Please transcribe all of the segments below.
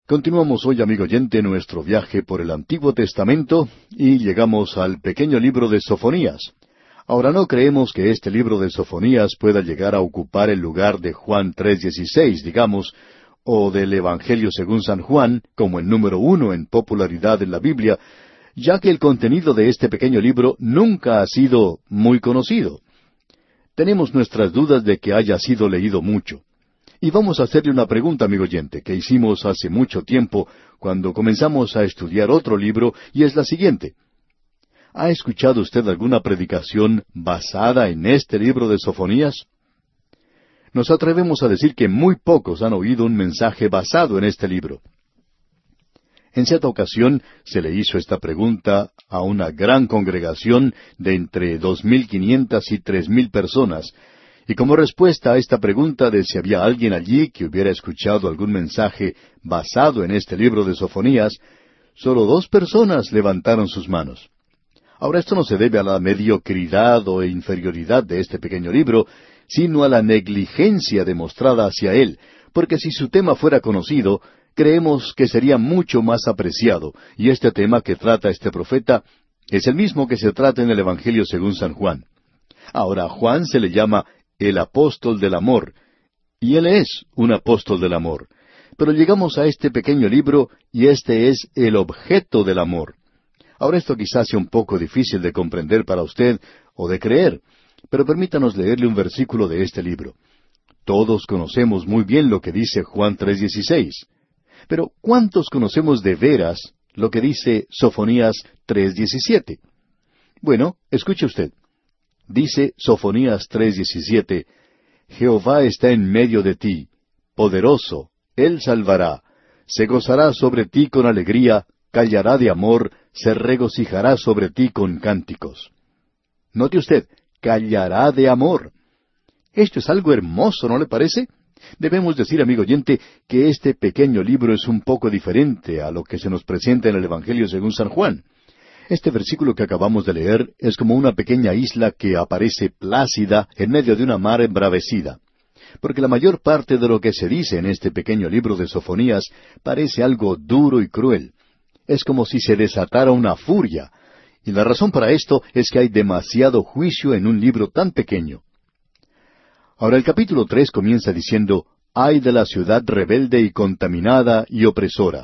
Continuamos hoy, amigo oyente, nuestro viaje por el Antiguo Testamento y llegamos al pequeño libro de Sofonías. Ahora, no creemos que este libro de Sofonías pueda llegar a ocupar el lugar de Juan 3:16, digamos, o del Evangelio según San Juan, como el número 1 en popularidad en la Biblia, ya que el contenido de este pequeño libro nunca ha sido muy conocido. Tenemos nuestras dudas de que haya sido leído mucho. Y vamos a hacerle una pregunta, amigo oyente, que hicimos hace mucho tiempo cuando comenzamos a estudiar otro libro, y es la siguiente. ¿Ha escuchado usted alguna predicación basada en este libro de Sofonías? Nos atrevemos a decir que muy pocos han oído un mensaje basado en este libro. En cierta ocasión se le hizo esta pregunta a una gran congregación de entre 2.500 y 3.000 personas, y como respuesta a esta pregunta de si había alguien allí que hubiera escuchado algún mensaje basado en este libro de Sofonías, solo 2 personas levantaron sus manos. Ahora, esto no se debe a la mediocridad o inferioridad de este pequeño libro, sino a la negligencia demostrada hacia él, porque si su tema fuera conocido, creemos que sería mucho más apreciado, y este tema que trata este profeta es el mismo que se trata en el Evangelio según San Juan. Ahora, a Juan se le llama el apóstol del amor, y él es un apóstol del amor. Pero llegamos a este pequeño libro, y este es el objeto del amor. Ahora, esto quizás sea un poco difícil de comprender para usted, o de creer, pero permítanos leerle un versículo de este libro. Todos conocemos muy bien lo que dice Juan 3:16. Pero, ¿cuántos conocemos de veras lo que dice Sofonías 3:17? Bueno, escuche usted. Dice Sofonías 3:17, Jehová está en medio de ti, poderoso, Él salvará, se gozará sobre ti con alegría, callará de amor, se regocijará sobre ti con cánticos. Note usted, callará de amor. Esto es algo hermoso, ¿no le parece? Debemos decir, amigo oyente, que este pequeño libro es un poco diferente a lo que se nos presenta en el Evangelio según San Juan. Este versículo que acabamos de leer es como una pequeña isla que aparece plácida en medio de una mar embravecida. Porque la mayor parte de lo que se dice en este pequeño libro de Sofonías parece algo duro y cruel. Es como si se desatara una furia. Y la razón para esto es que hay demasiado juicio en un libro tan pequeño. Ahora el capítulo 3 comienza diciendo, «Ay de la ciudad rebelde y contaminada y opresora».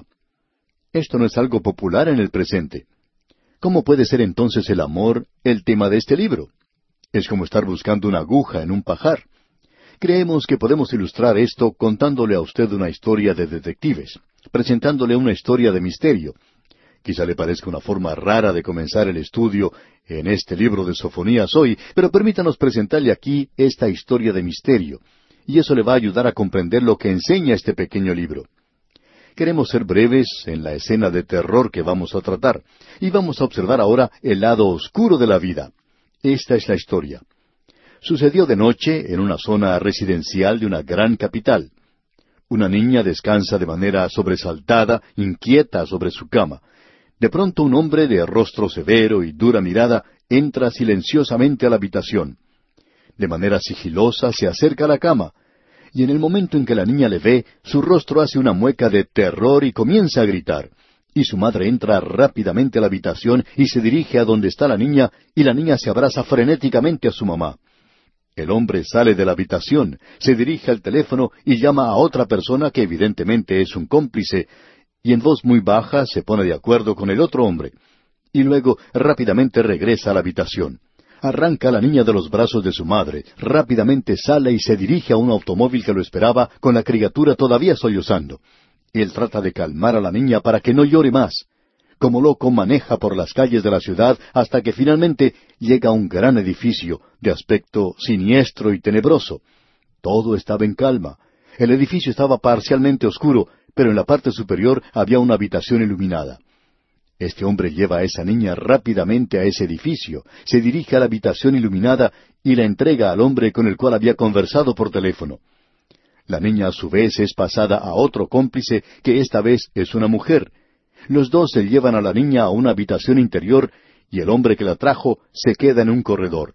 Esto no es algo popular en el presente. ¿Cómo puede ser entonces el amor el tema de este libro? Es como estar buscando una aguja en un pajar. Creemos que podemos ilustrar esto contándole a usted una historia de detectives, presentándole una historia de misterio. Quizá le parezca una forma rara de comenzar el estudio en este libro de Sofonías hoy, pero permítanos presentarle aquí esta historia de misterio, y eso le va a ayudar a comprender lo que enseña este pequeño libro. Queremos ser breves en la escena de terror que vamos a tratar, y vamos a observar ahora el lado oscuro de la vida. Esta es la historia. Sucedió de noche en una zona residencial de una gran capital. Una niña descansa de manera sobresaltada, inquieta sobre su cama. De pronto un hombre de rostro severo y dura mirada entra silenciosamente a la habitación. De manera sigilosa se acerca a la cama, y en el momento en que la niña le ve, su rostro hace una mueca de terror y comienza a gritar. Y su madre entra rápidamente a la habitación y se dirige a donde está la niña, y la niña se abraza frenéticamente a su mamá. El hombre sale de la habitación, se dirige al teléfono y llama a otra persona que evidentemente es un cómplice, y en voz muy baja se pone de acuerdo con el otro hombre. Y luego rápidamente regresa a la habitación. Arranca a la niña de los brazos de su madre, rápidamente sale y se dirige a un automóvil que lo esperaba con la criatura todavía sollozando. Él trata de calmar a la niña para que no llore más. Como loco maneja por las calles de la ciudad hasta que finalmente llega a un gran edificio de aspecto siniestro y tenebroso. Todo estaba en calma. El edificio estaba parcialmente oscuro, pero en la parte superior había una habitación iluminada. Este hombre lleva a esa niña rápidamente a ese edificio, se dirige a la habitación iluminada y la entrega al hombre con el cual había conversado por teléfono. La niña a su vez es pasada a otro cómplice, que esta vez es una mujer. Los dos se llevan a la niña a una habitación interior y el hombre que la trajo se queda en un corredor.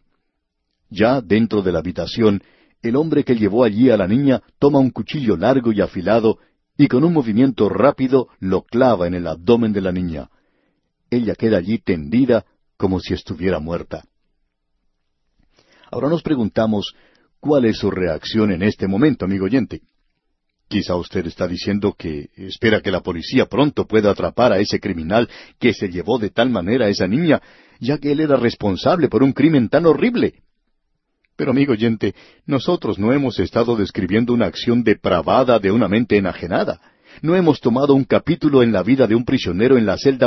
Ya dentro de la habitación, el hombre que llevó allí a la niña toma un cuchillo largo y afilado y con un movimiento rápido lo clava en el abdomen de la niña. Ella queda allí tendida como si estuviera muerta. Ahora nos preguntamos, ¿cuál es su reacción en este momento, amigo oyente? Quizá usted está diciendo que espera que la policía pronto pueda atrapar a ese criminal que se llevó de tal manera a esa niña, ya que él era responsable por un crimen tan horrible. Pero, amigo oyente, nosotros no hemos estado describiendo una acción depravada de una mente enajenada. No hemos tomado un capítulo en la vida de un prisionero en la celda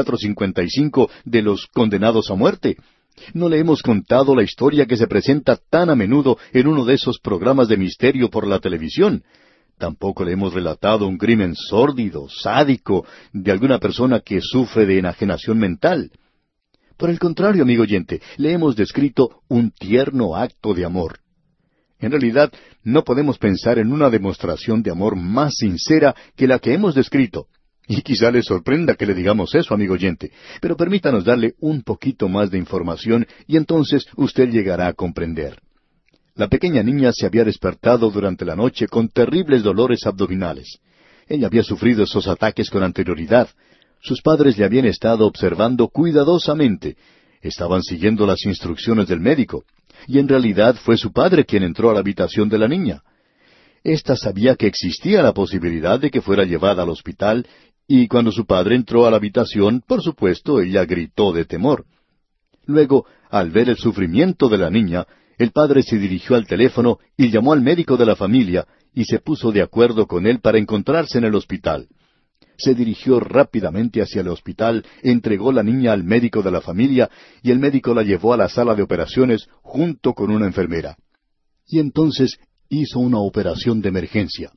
2455 de los condenados a muerte. No le hemos contado la historia que se presenta tan a menudo en uno de esos programas de misterio por la televisión. Tampoco le hemos relatado un crimen sórdido, sádico, de alguna persona que sufre de enajenación mental. Por el contrario, amigo oyente, le hemos descrito un tierno acto de amor. En realidad, no podemos pensar en una demostración de amor más sincera que la que hemos descrito. Y quizá le sorprenda que le digamos eso, amigo oyente, pero permítanos darle un poquito más de información y entonces usted llegará a comprender. La pequeña niña se había despertado durante la noche con terribles dolores abdominales. Ella había sufrido esos ataques con anterioridad. Sus padres le habían estado observando cuidadosamente. Estaban siguiendo las instrucciones del médico. Y en realidad fue su padre quien entró a la habitación de la niña. Esta sabía que existía la posibilidad de que fuera llevada al hospital, y cuando su padre entró a la habitación, por supuesto, ella gritó de temor. Luego, al ver el sufrimiento de la niña, el padre se dirigió al teléfono y llamó al médico de la familia y se puso de acuerdo con él para encontrarse en el hospital. Se dirigió rápidamente hacia el hospital, entregó la niña al médico de la familia y el médico la llevó a la sala de operaciones junto con una enfermera. Y entonces hizo una operación de emergencia.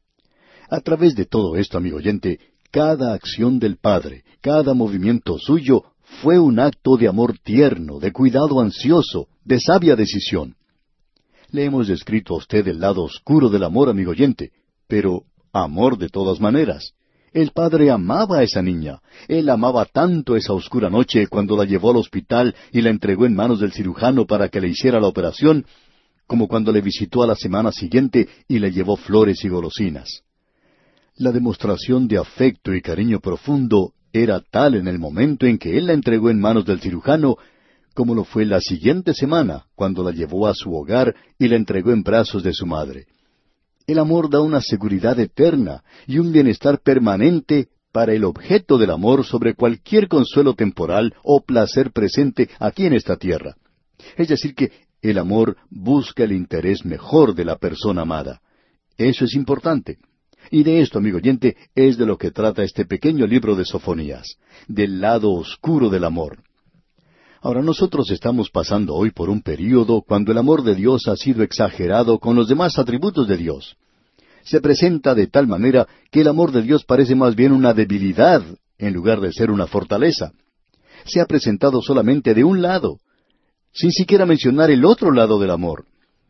A través de todo esto, amigo oyente, cada acción del padre, cada movimiento suyo, fue un acto de amor tierno, de cuidado ansioso, de sabia decisión. Le hemos descrito a usted el lado oscuro del amor, amigo oyente, pero amor de todas maneras. El padre amaba a esa niña. Él amaba tanto esa oscura noche cuando la llevó al hospital y la entregó en manos del cirujano para que le hiciera la operación, como cuando le visitó a la semana siguiente y le llevó flores y golosinas. La demostración de afecto y cariño profundo era tal en el momento en que él la entregó en manos del cirujano, como lo fue la siguiente semana, cuando la llevó a su hogar y la entregó en brazos de su madre. El amor da una seguridad eterna y un bienestar permanente para el objeto del amor sobre cualquier consuelo temporal o placer presente aquí en esta tierra. Es decir que el amor busca el interés mejor de la persona amada. Eso es importante. Y de esto, amigo oyente, es de lo que trata este pequeño libro de Sofonías, del lado oscuro del amor. Ahora, nosotros estamos pasando hoy por un período cuando el amor de Dios ha sido exagerado con los demás atributos de Dios. Se presenta de tal manera que el amor de Dios parece más bien una debilidad en lugar de ser una fortaleza. Se ha presentado solamente de un lado, sin siquiera mencionar el otro lado del amor.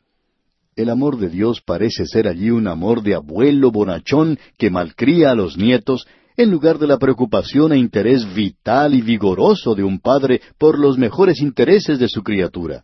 El amor de Dios parece ser allí un amor de abuelo bonachón que malcría a los nietos, en lugar de la preocupación e interés vital y vigoroso de un padre por los mejores intereses de su criatura.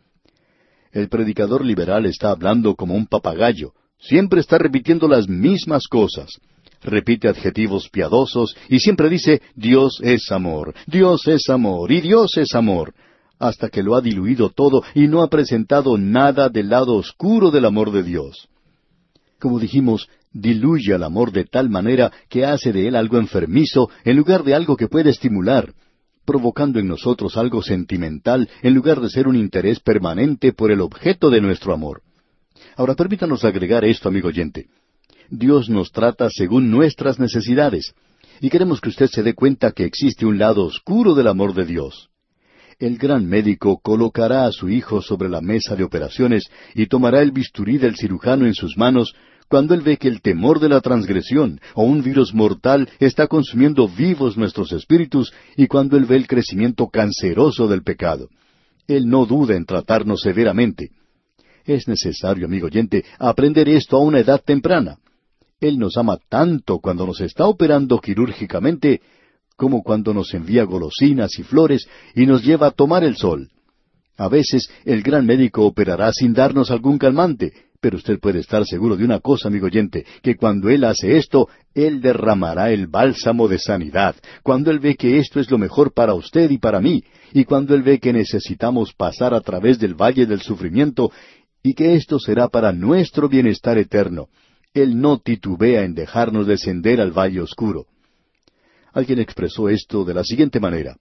El predicador liberal está hablando como un papagayo, siempre está repitiendo las mismas cosas. Repite adjetivos piadosos y siempre dice, Dios es amor, Dios es amor y Dios es amor, hasta que lo ha diluido todo y no ha presentado nada del lado oscuro del amor de Dios. Como dijimos, diluye al amor de tal manera que hace de él algo enfermizo en lugar de algo que puede estimular, provocando en nosotros algo sentimental en lugar de ser un interés permanente por el objeto de nuestro amor. Ahora permítanos agregar esto, amigo oyente. Dios nos trata según nuestras necesidades, y queremos que usted se dé cuenta que existe un lado oscuro del amor de Dios. El gran médico colocará a su hijo sobre la mesa de operaciones y tomará el bisturí del cirujano en sus manos cuando él ve que el temor de la transgresión o un virus mortal está consumiendo vivos nuestros espíritus y cuando él ve el crecimiento canceroso del pecado. Él no duda en tratarnos severamente. Es necesario, amigo oyente, aprender esto a una edad temprana. Él nos ama tanto cuando nos está operando quirúrgicamente como cuando nos envía golosinas y flores y nos lleva a tomar el sol. A veces el gran médico operará sin darnos algún calmante, Pero usted puede estar seguro de una cosa, amigo oyente, que cuando Él hace esto, Él derramará el bálsamo de sanidad. Cuando Él ve que esto es lo mejor para usted y para mí, y cuando Él ve que necesitamos pasar a través del valle del sufrimiento, y que esto será para nuestro bienestar eterno, Él no titubea en dejarnos descender al valle oscuro. Alguien expresó esto de la siguiente manera: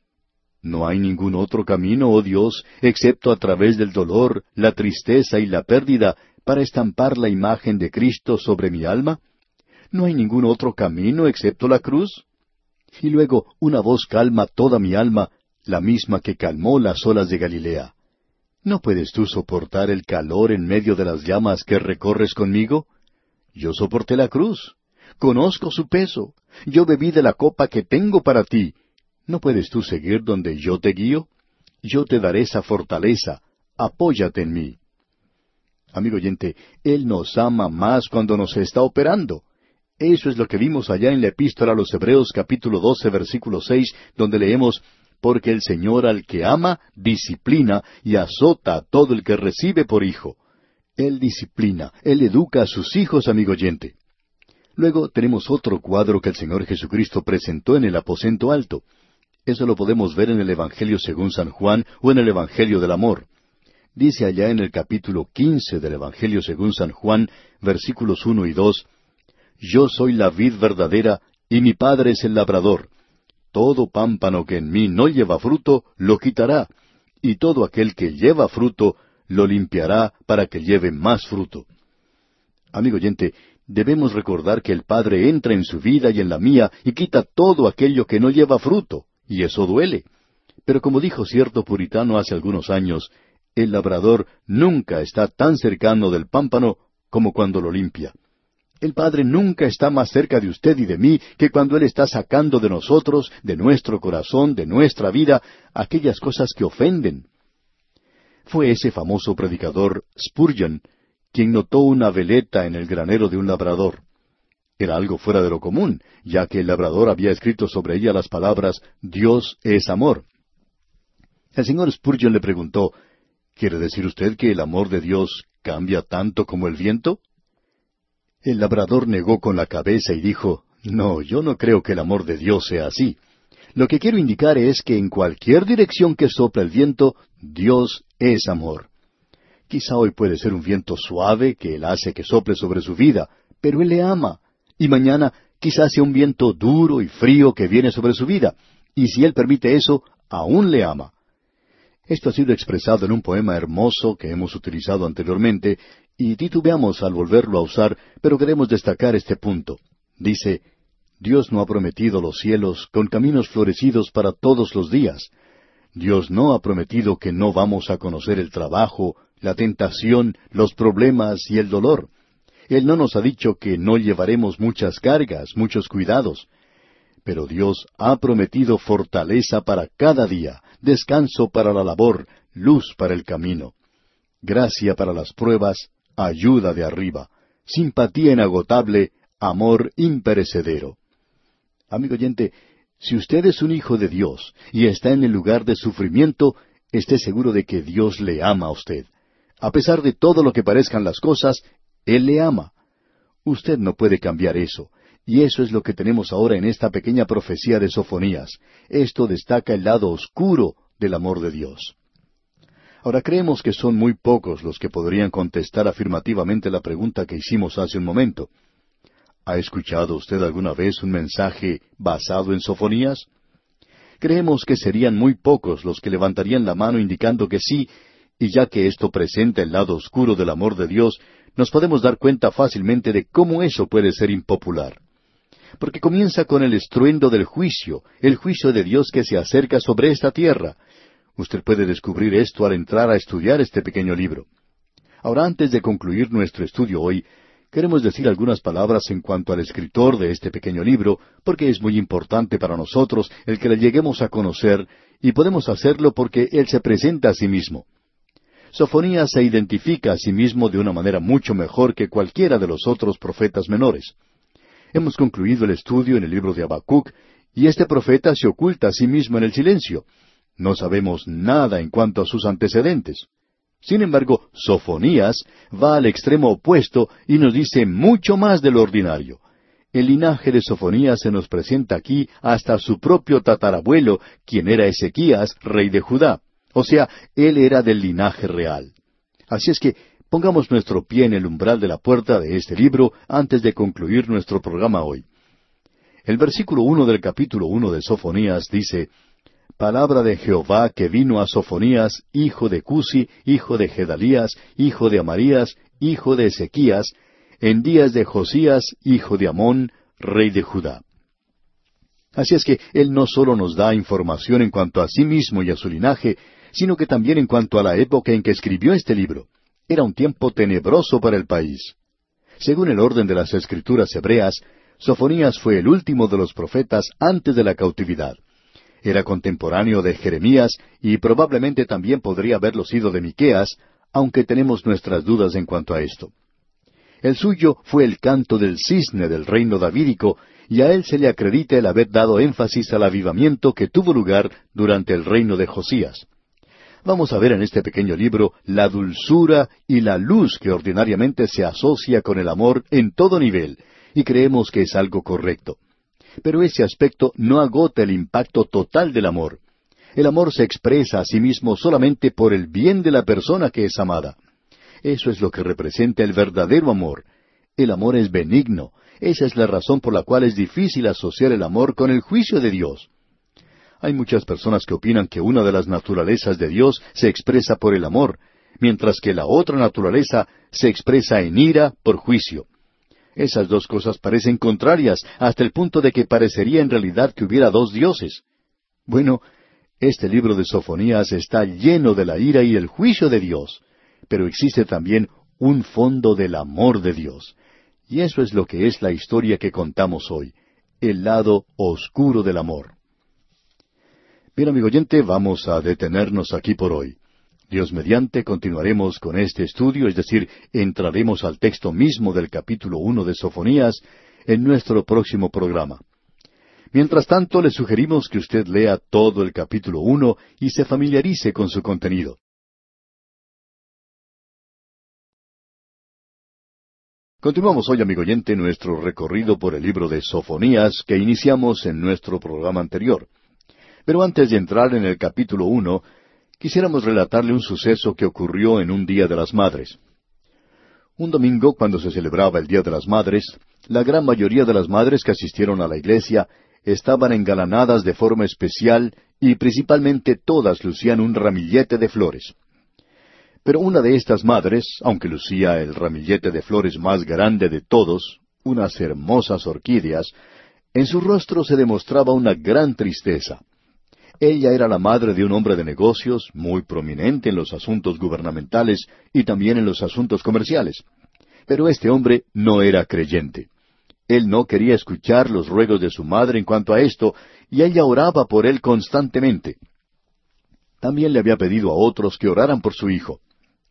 ¿no hay ningún otro camino, oh Dios, excepto a través del dolor, la tristeza y la pérdida, para estampar la imagen de Cristo sobre mi alma? ¿No hay ningún otro camino excepto la cruz? Y luego una voz calma toda mi alma, la misma que calmó las olas de Galilea. ¿No puedes tú soportar el calor en medio de las llamas que recorres conmigo? Yo soporté la cruz. Conozco su peso. Yo bebí de la copa que tengo para ti. ¿No puedes tú seguir donde yo te guío? Yo te daré esa fortaleza. Apóyate en mí. Amigo oyente, Él nos ama más cuando nos está operando. Eso es lo que vimos allá en la Epístola a los Hebreos capítulo 12, versículo 6, donde leemos: porque el Señor al que ama, disciplina y azota a todo el que recibe por hijo. Él disciplina, Él educa a sus hijos, amigo oyente. Luego tenemos otro cuadro que el Señor Jesucristo presentó en el aposento alto. Eso lo podemos ver en el Evangelio según San Juan o en el Evangelio del Amor. Dice allá en el capítulo 15 del Evangelio según San Juan, versículos 1 y 2, Yo soy la vid verdadera, y mi Padre es el labrador. Todo pámpano que en mí no lleva fruto, lo quitará, y todo aquel que lleva fruto, lo limpiará para que lleve más fruto. Amigo oyente, debemos recordar que el Padre entra en su vida y en la mía y quita todo aquello que no lleva fruto, y eso duele. Pero como dijo cierto puritano hace algunos años, el labrador nunca está tan cercano del pámpano como cuando lo limpia. El Padre nunca está más cerca de usted y de mí que cuando Él está sacando de nosotros, de nuestro corazón, de nuestra vida, aquellas cosas que ofenden. Fue ese famoso predicador Spurgeon quien notó una veleta en el granero de un labrador. Era algo fuera de lo común, ya que el labrador había escrito sobre ella las palabras Dios es amor. El señor Spurgeon le preguntó, ¿quiere decir usted que el amor de Dios cambia tanto como el viento? El labrador negó con la cabeza y dijo, no, yo no creo que el amor de Dios sea así. Lo que quiero indicar es que en cualquier dirección que sopla el viento, Dios es amor. Quizá hoy puede ser un viento suave que Él hace que sople sobre su vida, pero Él le ama. Y mañana quizás sea un viento duro y frío que viene sobre su vida, y si Él permite eso, aún le ama. Esto ha sido expresado en un poema hermoso que hemos utilizado anteriormente, y titubeamos al volverlo a usar, pero queremos destacar este punto. Dice, Dios no ha prometido los cielos con caminos florecidos para todos los días. Dios no ha prometido que no vamos a conocer el trabajo, la tentación, los problemas y el dolor. Él no nos ha dicho que no llevaremos muchas cargas, muchos cuidados. Pero Dios ha prometido fortaleza para cada día, descanso para la labor, luz para el camino, gracia para las pruebas, ayuda de arriba, simpatía inagotable, amor imperecedero. Amigo oyente, si usted es un hijo de Dios y está en el lugar de sufrimiento, esté seguro de que Dios le ama a usted. A pesar de todo lo que parezcan las cosas, Él le ama. Usted no puede cambiar eso. Y eso es lo que tenemos ahora en esta pequeña profecía de Sofonías. Esto destaca el lado oscuro del amor de Dios. Ahora creemos que son muy pocos los que podrían contestar afirmativamente la pregunta que hicimos hace un momento. ¿Ha escuchado usted alguna vez un mensaje basado en Sofonías? Creemos que serían muy pocos los que levantarían la mano indicando que sí, y ya que esto presenta el lado oscuro del amor de Dios, nos podemos dar cuenta fácilmente de cómo eso puede ser impopular. Porque comienza con el estruendo del juicio, el juicio de Dios que se acerca sobre esta tierra. Usted puede descubrir esto al entrar a estudiar este pequeño libro. Ahora, antes de concluir nuestro estudio hoy, queremos decir algunas palabras en cuanto al escritor de este pequeño libro, porque es muy importante para nosotros el que le lleguemos a conocer, y podemos hacerlo porque él se presenta a sí mismo. Sofonías se identifica a sí mismo de una manera mucho mejor que cualquiera de los otros profetas menores. Hemos concluido el estudio en el libro de Habacuc, y este profeta se oculta a sí mismo en el silencio. No sabemos nada en cuanto a sus antecedentes. Sin embargo, Sofonías va al extremo opuesto y nos dice mucho más de lo ordinario. El linaje de Sofonías se nos presenta aquí hasta su propio tatarabuelo, quien era Ezequías, rey de Judá. O sea, él era del linaje real. Así es que pongamos nuestro pie en el umbral de la puerta de este libro antes de concluir nuestro programa hoy. El versículo 1 del capítulo 1 de Sofonías dice: Palabra de Jehová que vino a Sofonías, hijo de Cusi, hijo de Gedalías, hijo de Amarías, hijo de Ezequías, en días de Josías, hijo de Amón, rey de Judá. Así es que él no solo nos da información en cuanto a sí mismo y a su linaje, sino que también en cuanto a la época en que escribió este libro. Era un tiempo tenebroso para el país. Según el orden de las Escrituras hebreas, Sofonías fue el último de los profetas antes de la cautividad. Era contemporáneo de Jeremías y probablemente también podría haberlo sido de Miqueas, aunque tenemos nuestras dudas en cuanto a esto. El suyo fue el canto del cisne del reino davídico, y a él se le acredita el haber dado énfasis al avivamiento que tuvo lugar durante el reino de Josías. Vamos a ver en este pequeño libro la dulzura y la luz que ordinariamente se asocia con el amor en todo nivel, y creemos que es algo correcto. Pero ese aspecto no agota el impacto total del amor. El amor se expresa a sí mismo solamente por el bien de la persona que es amada. Eso es lo que representa el verdadero amor. El amor es benigno. Esa es la razón por la cual es difícil asociar el amor con el juicio de Dios. Hay muchas personas que opinan que una de las naturalezas de Dios se expresa por el amor, mientras que la otra naturaleza se expresa en ira por juicio. Esas dos cosas parecen contrarias, hasta el punto de que parecería en realidad que hubiera dos dioses. Bueno, este libro de Sofonías está lleno de la ira y el juicio de Dios, pero existe también un fondo del amor de Dios. Y eso es lo que es la historia que contamos hoy, el lado oscuro del amor. Bien, amigo oyente, vamos a detenernos aquí por hoy. Dios mediante, continuaremos con este estudio, es decir, entraremos al texto mismo del capítulo 1 de Sofonías en nuestro próximo programa. Mientras tanto, le sugerimos que usted lea todo el capítulo 1 y se familiarice con su contenido. Continuamos hoy, amigo oyente, nuestro recorrido por el libro de Sofonías que iniciamos en nuestro programa anterior. Pero antes de entrar en el capítulo 1, quisiéramos relatarle un suceso que ocurrió en un Día de las Madres. Un domingo, cuando se celebraba el Día de las Madres, la gran mayoría de las madres que asistieron a la iglesia estaban engalanadas de forma especial y principalmente todas lucían un ramillete de flores. Pero una de estas madres, aunque lucía el ramillete de flores más grande de todos, unas hermosas orquídeas, en su rostro se demostraba una gran tristeza. Ella era la madre de un hombre de negocios muy prominente en los asuntos gubernamentales y también en los asuntos comerciales. Pero este hombre no era creyente. Él no quería escuchar los ruegos de su madre en cuanto a esto, y ella oraba por él constantemente. También le había pedido a otros que oraran por su hijo.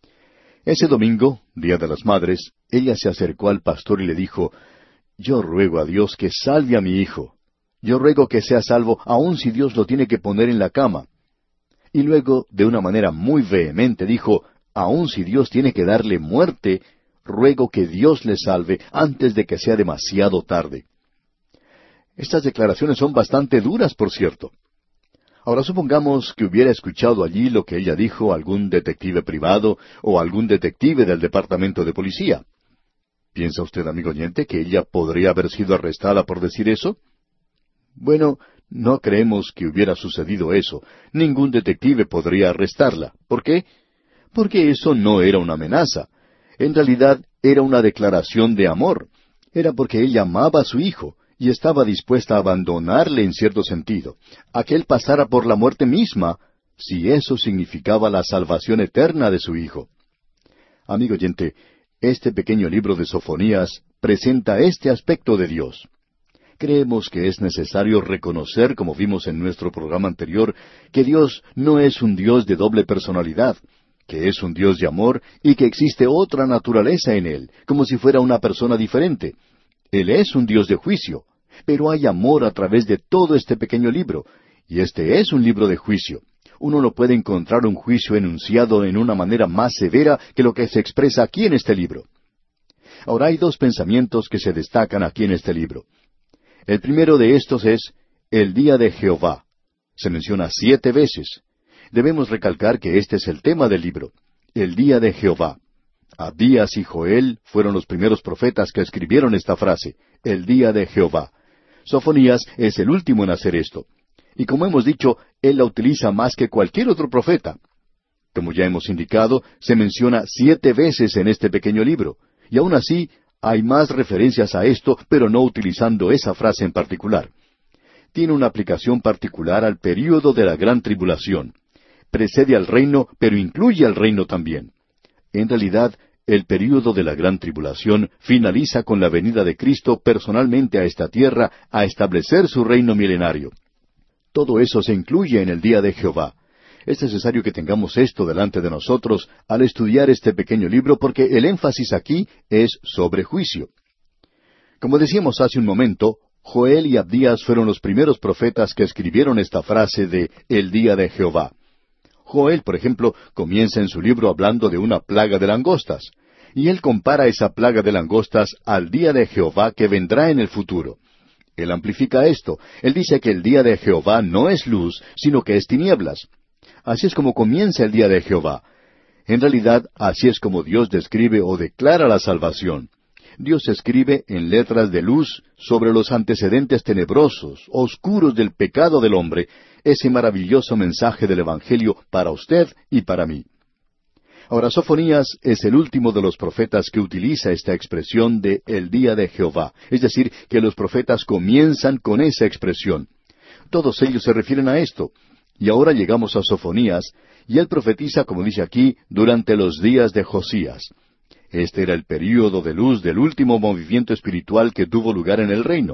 Ese domingo, Día de las Madres, ella se acercó al pastor y le dijo: «Yo ruego a Dios que salve a mi hijo. Yo ruego que sea salvo, aun si Dios lo tiene que poner en la cama». Y luego, de una manera muy vehemente, dijo: «Aun si Dios tiene que darle muerte, ruego que Dios le salve antes de que sea demasiado tarde». Estas declaraciones son bastante duras, por cierto. Ahora supongamos que hubiera escuchado allí lo que ella dijo algún detective privado o algún detective del departamento de policía. ¿Piensa usted, amigo oyente, que ella podría haber sido arrestada por decir eso? Bueno, no creemos que hubiera sucedido eso. Ningún detective podría arrestarla. ¿Por qué? Porque eso no era una amenaza. En realidad, era una declaración de amor. Era porque ella amaba a su hijo y estaba dispuesta a abandonarle en cierto sentido, a que él pasara por la muerte misma, si eso significaba la salvación eterna de su hijo. Amigo oyente, este pequeño libro de Sofonías presenta este aspecto de Dios. Creemos que es necesario reconocer, como vimos en nuestro programa anterior, que Dios no es un Dios de doble personalidad, que es un Dios de amor y que existe otra naturaleza en Él, como si fuera una persona diferente. Él es un Dios de juicio, pero hay amor a través de todo este pequeño libro, y este es un libro de juicio, uno no puede encontrar un juicio enunciado en una manera más severa que lo que se expresa aquí en este libro. Ahora hay dos pensamientos que se destacan aquí en este libro. El primero de estos es el día de Jehová. Se menciona 7 veces. Debemos recalcar que este es el tema del libro, el día de Jehová. Abdías y Joel fueron los primeros profetas que escribieron esta frase, el día de Jehová. Sofonías es el último en hacer esto. Y como hemos dicho, él la utiliza más que cualquier otro profeta. Como ya hemos indicado, se menciona 7 veces en este pequeño libro. Y aún así, hay más referencias a esto, pero no utilizando esa frase en particular. Tiene una aplicación particular al período de la gran tribulación. Precede al reino, pero incluye al reino también. En realidad, el período de la gran tribulación finaliza con la venida de Cristo personalmente a esta tierra a establecer su reino milenario. Todo eso se incluye en el día de Jehová. Es necesario que tengamos esto delante de nosotros al estudiar este pequeño libro porque el énfasis aquí es sobre juicio. Como decíamos hace un momento, Joel y Abdías fueron los primeros profetas que escribieron esta frase de el día de Jehová. Joel, por ejemplo, comienza en su libro hablando de una plaga de langostas, y él compara esa plaga de langostas al día de Jehová que vendrá en el futuro. Él amplifica esto. Él dice que el día de Jehová no es luz, sino que es tinieblas. Así es como comienza el día de Jehová. En realidad, así es como Dios describe o declara la salvación. Dios escribe en letras de luz sobre los antecedentes tenebrosos, oscuros del pecado del hombre, ese maravilloso mensaje del Evangelio para usted y para mí. Ahora, Sofonías es el último de los profetas que utiliza esta expresión de el día de Jehová, es decir, que los profetas comienzan con esa expresión. Todos ellos se refieren a esto. Y ahora llegamos a Sofonías, y él profetiza, como dice aquí, durante los días de Josías. Este era el período de luz del último movimiento espiritual que tuvo lugar en el reino.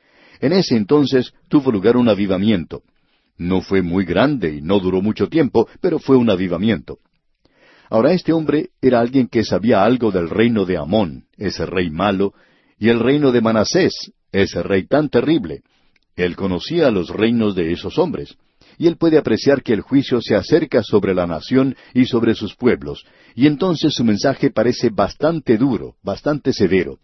En ese entonces tuvo lugar un avivamiento. No fue muy grande y no duró mucho tiempo, pero fue un avivamiento. Ahora este hombre era alguien que sabía algo del reino de Amón, ese rey malo, y el reino de Manasés, ese rey tan terrible. Él conocía los reinos de esos hombres. Y él puede apreciar que el juicio se acerca sobre la nación y sobre sus pueblos, y entonces su mensaje parece bastante duro, bastante severo.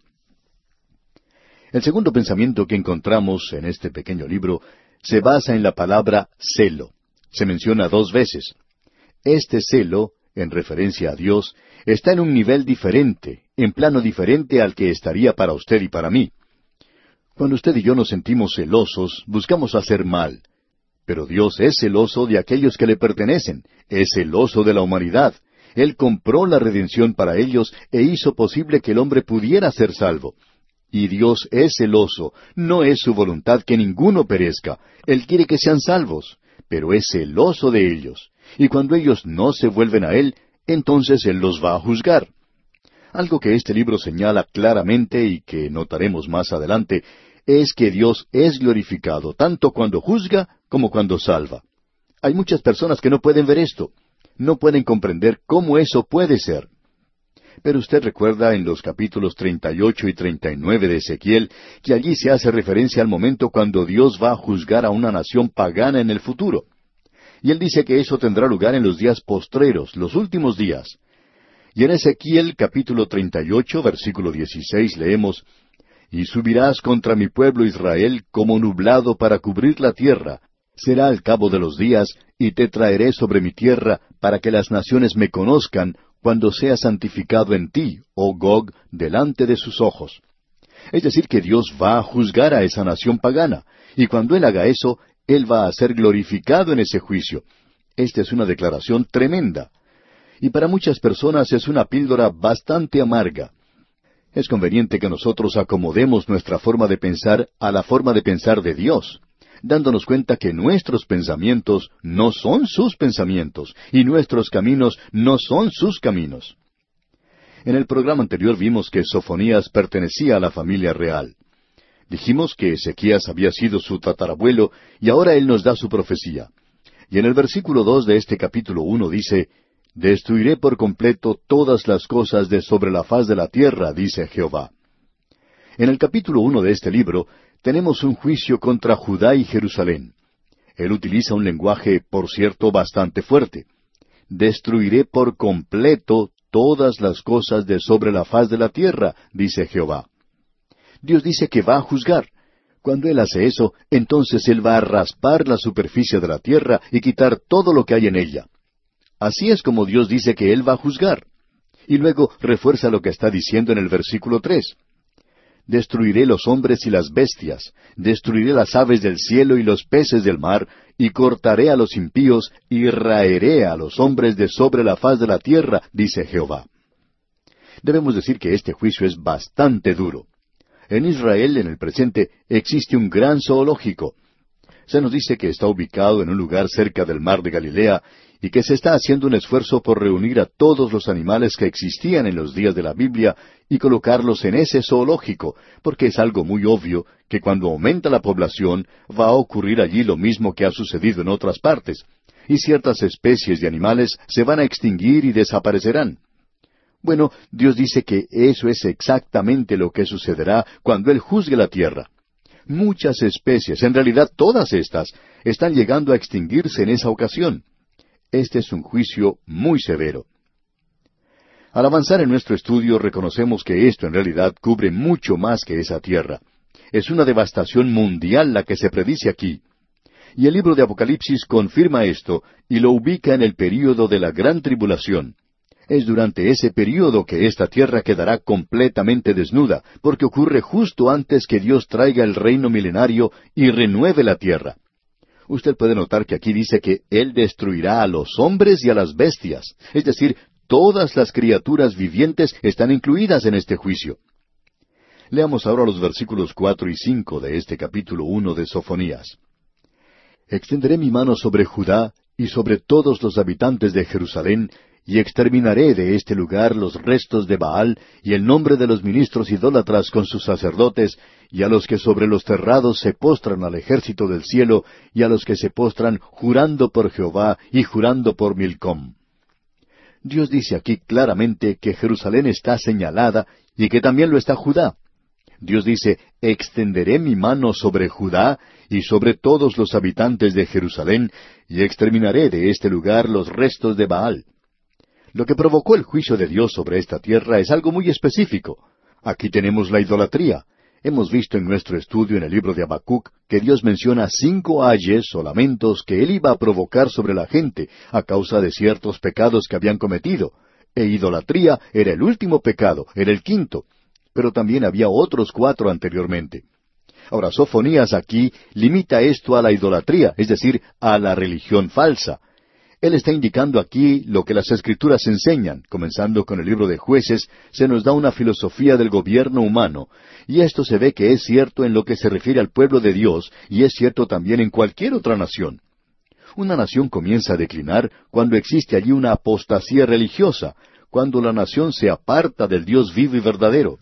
El segundo pensamiento que encontramos en este pequeño libro se basa en la palabra celo. Se menciona 2 veces. Este celo, en referencia a Dios, está en un nivel diferente, en plano diferente al que estaría para usted y para mí. Cuando usted y yo nos sentimos celosos, buscamos hacer mal. Pero Dios es celoso de aquellos que le pertenecen, es celoso de la humanidad. Él compró la redención para ellos e hizo posible que el hombre pudiera ser salvo. Y Dios es celoso, no es su voluntad que ninguno perezca. Él quiere que sean salvos, pero es celoso de ellos. Y cuando ellos no se vuelven a Él, entonces Él los va a juzgar. Algo que este libro señala claramente y que notaremos más adelante es que Dios es glorificado tanto cuando juzga como cuando salva. Hay muchas personas que no pueden ver esto, no pueden comprender cómo eso puede ser. Pero usted recuerda en los capítulos 38 y 39 de Ezequiel que allí se hace referencia al momento cuando Dios va a juzgar a una nación pagana en el futuro. Y él dice que eso tendrá lugar en los días postreros, los últimos días. Y en Ezequiel capítulo 38, versículo 16 leemos: Y subirás contra mi pueblo Israel como nublado para cubrir la tierra. Será al cabo de los días, y te traeré sobre mi tierra, para que las naciones me conozcan, cuando sea santificado en ti, oh Gog, delante de sus ojos. Es decir, que Dios va a juzgar a esa nación pagana, y cuando Él haga eso, Él va a ser glorificado en ese juicio. Esta es una declaración tremenda. Y para muchas personas es una píldora bastante amarga. Es conveniente que nosotros acomodemos nuestra forma de pensar a la forma de pensar de Dios, dándonos cuenta que nuestros pensamientos no son sus pensamientos, y nuestros caminos no son sus caminos. En el programa anterior vimos que Sofonías pertenecía a la familia real. Dijimos que Ezequías había sido su tatarabuelo, y ahora él nos da su profecía. Y en el versículo 2 de este capítulo 1 dice: Destruiré por completo todas las cosas de sobre la faz de la tierra, dice Jehová. En el capítulo 1 de este libro tenemos un juicio contra Judá y Jerusalén. Él utiliza un lenguaje, por cierto, bastante fuerte. Destruiré por completo todas las cosas de sobre la faz de la tierra, dice Jehová. Dios dice que va a juzgar. Cuando Él hace eso, entonces Él va a raspar la superficie de la tierra y quitar todo lo que hay en ella. Así es como Dios dice que Él va a juzgar. Y luego refuerza lo que está diciendo en el versículo 3. Destruiré los hombres y las bestias, destruiré las aves del cielo y los peces del mar, y cortaré a los impíos, y raeré a los hombres de sobre la faz de la tierra, dice Jehová. Debemos decir que este juicio es bastante duro. En Israel, en el presente, existe un gran zoológico. Se nos dice que está ubicado en un lugar cerca del mar de Galilea, y que se está haciendo un esfuerzo por reunir a todos los animales que existían en los días de la Biblia y colocarlos en ese zoológico, porque es algo muy obvio que cuando aumenta la población va a ocurrir allí lo mismo que ha sucedido en otras partes, y ciertas especies de animales se van a extinguir y desaparecerán. Bueno, Dios dice que eso es exactamente lo que sucederá cuando Él juzgue la tierra. Muchas especies, en realidad todas estas, están llegando a extinguirse en esa ocasión. Este es un juicio muy severo. Al avanzar en nuestro estudio reconocemos que esto en realidad cubre mucho más que esa tierra. Es una devastación mundial la que se predice aquí. Y el libro de Apocalipsis confirma esto y lo ubica en el período de la gran tribulación. Es durante ese período que esta tierra quedará completamente desnuda, porque ocurre justo antes que Dios traiga el reino milenario y renueve la tierra. Usted puede notar que aquí dice que Él destruirá a los hombres y a las bestias, es decir, todas las criaturas vivientes están incluidas en este juicio. Leamos ahora los versículos 4 y 5 de este capítulo 1 de Sofonías. Extenderé mi mano sobre Judá y sobre todos los habitantes de Jerusalén, y exterminaré de este lugar los restos de Baal y el nombre de los ministros idólatras con sus sacerdotes, y a los que sobre los terrados se postran al ejército del cielo, y a los que se postran jurando por Jehová y jurando por Milcom. Dios dice aquí claramente que Jerusalén está señalada y que también lo está Judá. Dios dice, extenderé mi mano sobre Judá y sobre todos los habitantes de Jerusalén, y exterminaré de este lugar los restos de Baal. Lo que provocó el juicio de Dios sobre esta tierra es algo muy específico. Aquí tenemos la idolatría. Hemos visto en nuestro estudio en el libro de Habacuc que Dios menciona 5 ayes o lamentos que Él iba a provocar sobre la gente a causa de ciertos pecados que habían cometido. E idolatría era el último pecado, era el quinto. Pero también había otros 4 anteriormente. Ahora, Sofonías aquí limita esto a la idolatría, es decir, a la religión falsa. Él está indicando aquí lo que las Escrituras enseñan. Comenzando con el libro de Jueces, se nos da una filosofía del gobierno humano, y esto se ve que es cierto en lo que se refiere al pueblo de Dios, y es cierto también en cualquier otra nación. Una nación comienza a declinar cuando existe allí una apostasía religiosa, cuando la nación se aparta del Dios vivo y verdadero.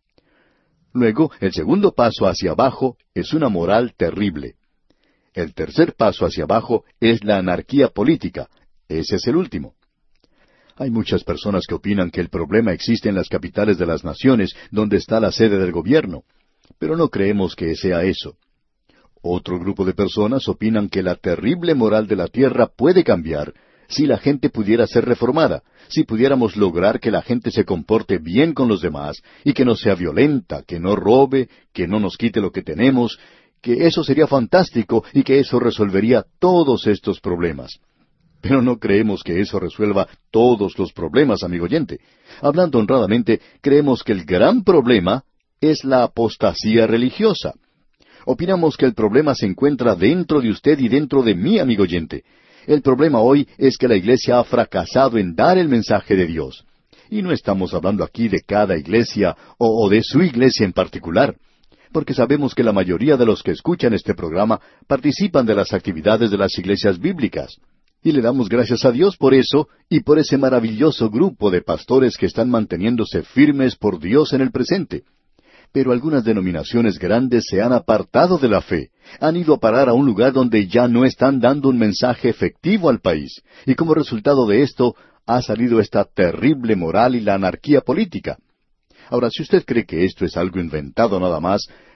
Luego, el segundo paso hacia abajo es una moral terrible. El tercer paso hacia abajo es la anarquía política. Ese es el último. Hay muchas personas que opinan que el problema existe en las capitales de las naciones, donde está la sede del gobierno. Pero no creemos que sea eso. Otro grupo de personas opinan que la terrible moral de la tierra puede cambiar si la gente pudiera ser reformada, si pudiéramos lograr que la gente se comporte bien con los demás y que no sea violenta, que no robe, que no nos quite lo que tenemos, que eso sería fantástico y que eso resolvería todos estos problemas. Pero no creemos que eso resuelva todos los problemas, amigo oyente. Hablando honradamente, creemos que el gran problema es la apostasía religiosa. Opinamos que el problema se encuentra dentro de usted y dentro de mí, amigo oyente. El problema hoy es que la iglesia ha fracasado en dar el mensaje de Dios. Y no estamos hablando aquí de cada iglesia o de su iglesia en particular, porque sabemos que la mayoría de los que escuchan este programa participan de las actividades de las iglesias bíblicas. Y le damos gracias a Dios por eso y por ese maravilloso grupo de pastores que están manteniéndose firmes por Dios en el presente. Pero algunas denominaciones grandes se han apartado de la fe, han ido a parar a un lugar donde ya no están dando un mensaje efectivo al país, y como resultado de esto ha salido esta terrible moral y la anarquía política. Ahora, si usted cree que esto es algo inventado nada más,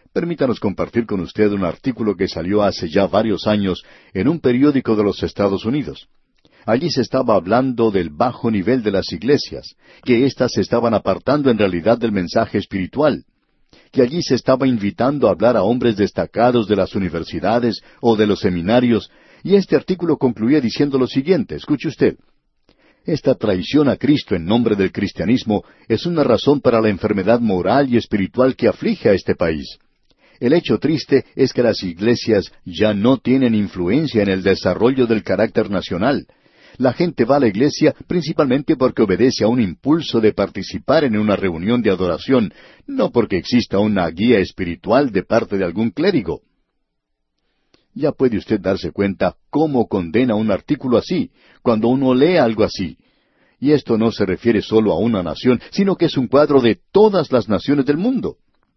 Permítanos compartir con usted un artículo que salió hace ya varios años en un periódico de los Estados Unidos. Allí se estaba hablando del bajo nivel de las iglesias, que éstas se estaban apartando en realidad del mensaje espiritual, que allí se estaba invitando a hablar a hombres destacados de las universidades o de los seminarios, y este artículo concluía diciendo lo siguiente, escuche usted: esta traición a Cristo en nombre del cristianismo es una razón para la enfermedad moral y espiritual que aflige a este país. El hecho triste es que las iglesias ya no tienen influencia en el desarrollo del carácter nacional. La gente va a la iglesia principalmente porque obedece a un impulso de participar en una reunión de adoración, no porque exista una guía espiritual de parte de algún clérigo. Ya puede usted darse cuenta cómo condena un artículo así, cuando uno lee algo así. Y esto no se refiere solo a una nación, sino que es un cuadro de todas las naciones del mundo.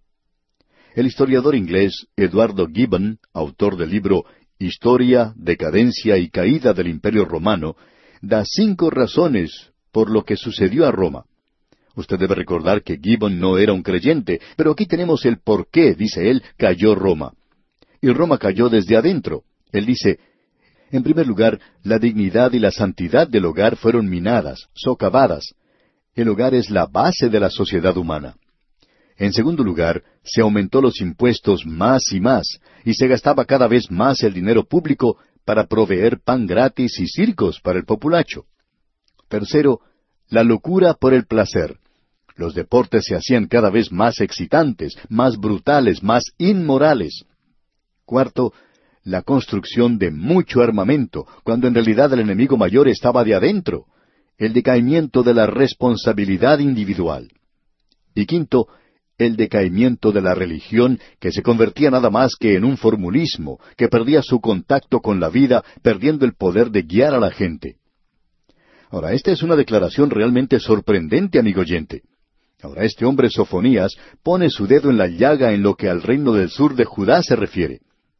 El historiador inglés Eduardo Gibbon, autor del libro Historia, Decadencia y Caída del Imperio Romano, da 5 razones por lo que sucedió a Roma. Usted debe recordar que Gibbon no era un creyente, pero aquí tenemos el por qué, dice él, cayó Roma. Y Roma cayó desde adentro. Él dice, en primer lugar, la dignidad y la santidad del hogar fueron minadas, socavadas. El hogar es la base de la sociedad humana. En segundo lugar, se aumentó los impuestos más y se gastaba cada vez más el dinero público para proveer pan gratis y circos para el populacho. Tercero, la locura por el placer. Los deportes se hacían cada vez más excitantes, más brutales, más inmorales. Cuarto, la construcción de mucho armamento, cuando en realidad el enemigo mayor estaba de adentro. El decaimiento de la responsabilidad individual. Y quinto, el decaimiento de la religión, que se convertía nada más que en un formulismo, que perdía su contacto con la vida, perdiendo el poder de guiar a la gente. Ahora, esta es una declaración realmente sorprendente, amigo oyente. Ahora, este hombre Sofonías pone su dedo en la llaga en lo que al reino del sur de Judá se refiere.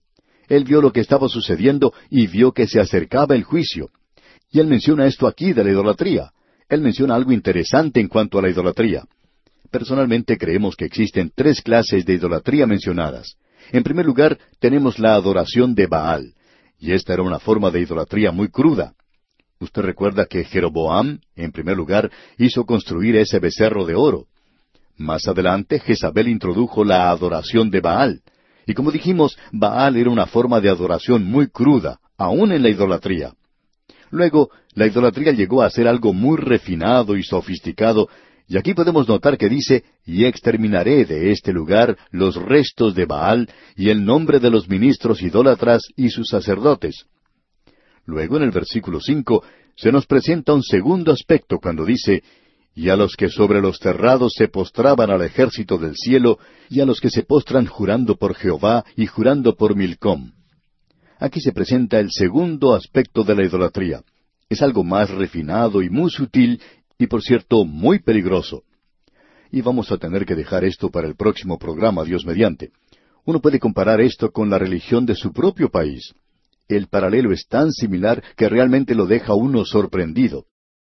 Él vio lo que estaba sucediendo y vio que se acercaba el juicio. Y él menciona esto aquí de la idolatría. Él menciona algo interesante en cuanto a la idolatría. Personalmente creemos que existen 3 clases de idolatría mencionadas. En primer lugar, tenemos la adoración de Baal, y esta era una forma de idolatría muy cruda. Usted recuerda que Jeroboam, en primer lugar, hizo construir ese becerro de oro. Más adelante, Jezabel introdujo la adoración de Baal. Y como dijimos, Baal era una forma de adoración muy cruda, aún en la idolatría. Luego, la idolatría llegó a ser algo muy refinado y sofisticado, y aquí podemos notar que dice, y exterminaré de este lugar los restos de Baal y el nombre de los ministros idólatras y sus sacerdotes. Luego en el versículo 5 se nos presenta un segundo aspecto cuando dice, y a los que sobre los terrados se postraban al ejército del cielo, y a los que se postran jurando por Jehová y jurando por Milcom. Aquí se presenta el segundo aspecto de la idolatría. Es algo más refinado y muy sutil, y por cierto, muy peligroso. Y vamos a tener que dejar esto para el próximo programa, Dios mediante. Uno puede comparar esto con la religión de su propio país. El paralelo es tan similar que realmente lo deja uno sorprendido.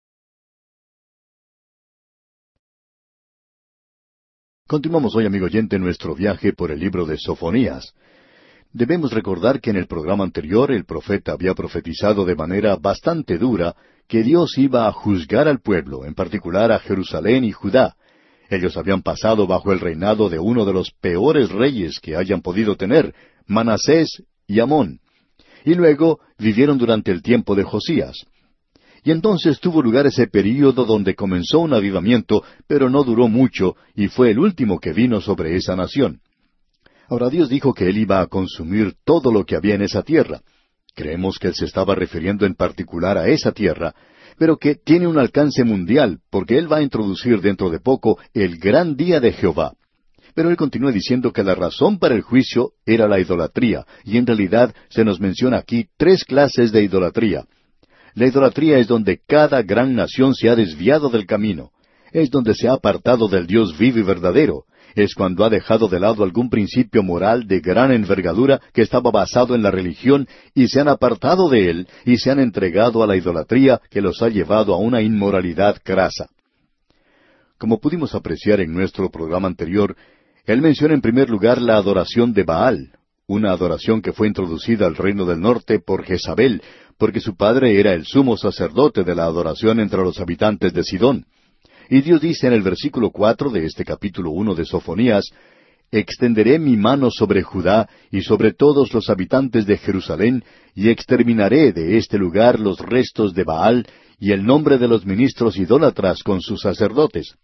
Continuamos hoy, amigo oyente, nuestro viaje por el libro de Sofonías. Debemos recordar que en el programa anterior el profeta había profetizado de manera bastante dura que Dios iba a juzgar al pueblo, en particular a Jerusalén y Judá. Ellos habían pasado bajo el reinado de uno de los peores reyes que hayan podido tener, Manasés y Amón. Y luego vivieron durante el tiempo de Josías. Y entonces tuvo lugar ese período donde comenzó un avivamiento, pero no duró mucho, y fue el último que vino sobre esa nación. Ahora Dios dijo que Él iba a consumir todo lo que había en esa tierra. Creemos que Él se estaba refiriendo en particular a esa tierra, pero que tiene un alcance mundial, porque Él va a introducir dentro de poco el gran día de Jehová. Pero Él continúa diciendo que la razón para el juicio era la idolatría, y en realidad se nos menciona aquí 3 clases de idolatría. La idolatría es donde cada gran nación se ha desviado del camino. Es donde se ha apartado del Dios vivo y verdadero. Es cuando ha dejado de lado algún principio moral de gran envergadura que estaba basado en la religión y se han apartado de él y se han entregado a la idolatría que los ha llevado a una inmoralidad crasa. Como pudimos apreciar en nuestro programa anterior, Él menciona en primer lugar la adoración de Baal, una adoración que fue introducida al reino del norte por Jezabel, porque su padre era el sumo sacerdote de la adoración entre los habitantes de Sidón. Y Dios dice en el versículo 4 de este capítulo 1 de Sofonías, «Extenderé mi mano sobre Judá y sobre todos los habitantes de Jerusalén, y exterminaré de este lugar los restos de Baal y el nombre de los ministros idólatras con sus sacerdotes».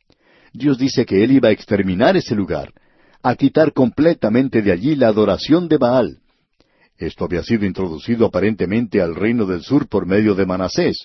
Dios dice que Él iba a exterminar ese lugar, a quitar completamente de allí la adoración de Baal. Esto había sido introducido aparentemente al reino del sur por medio de Manasés.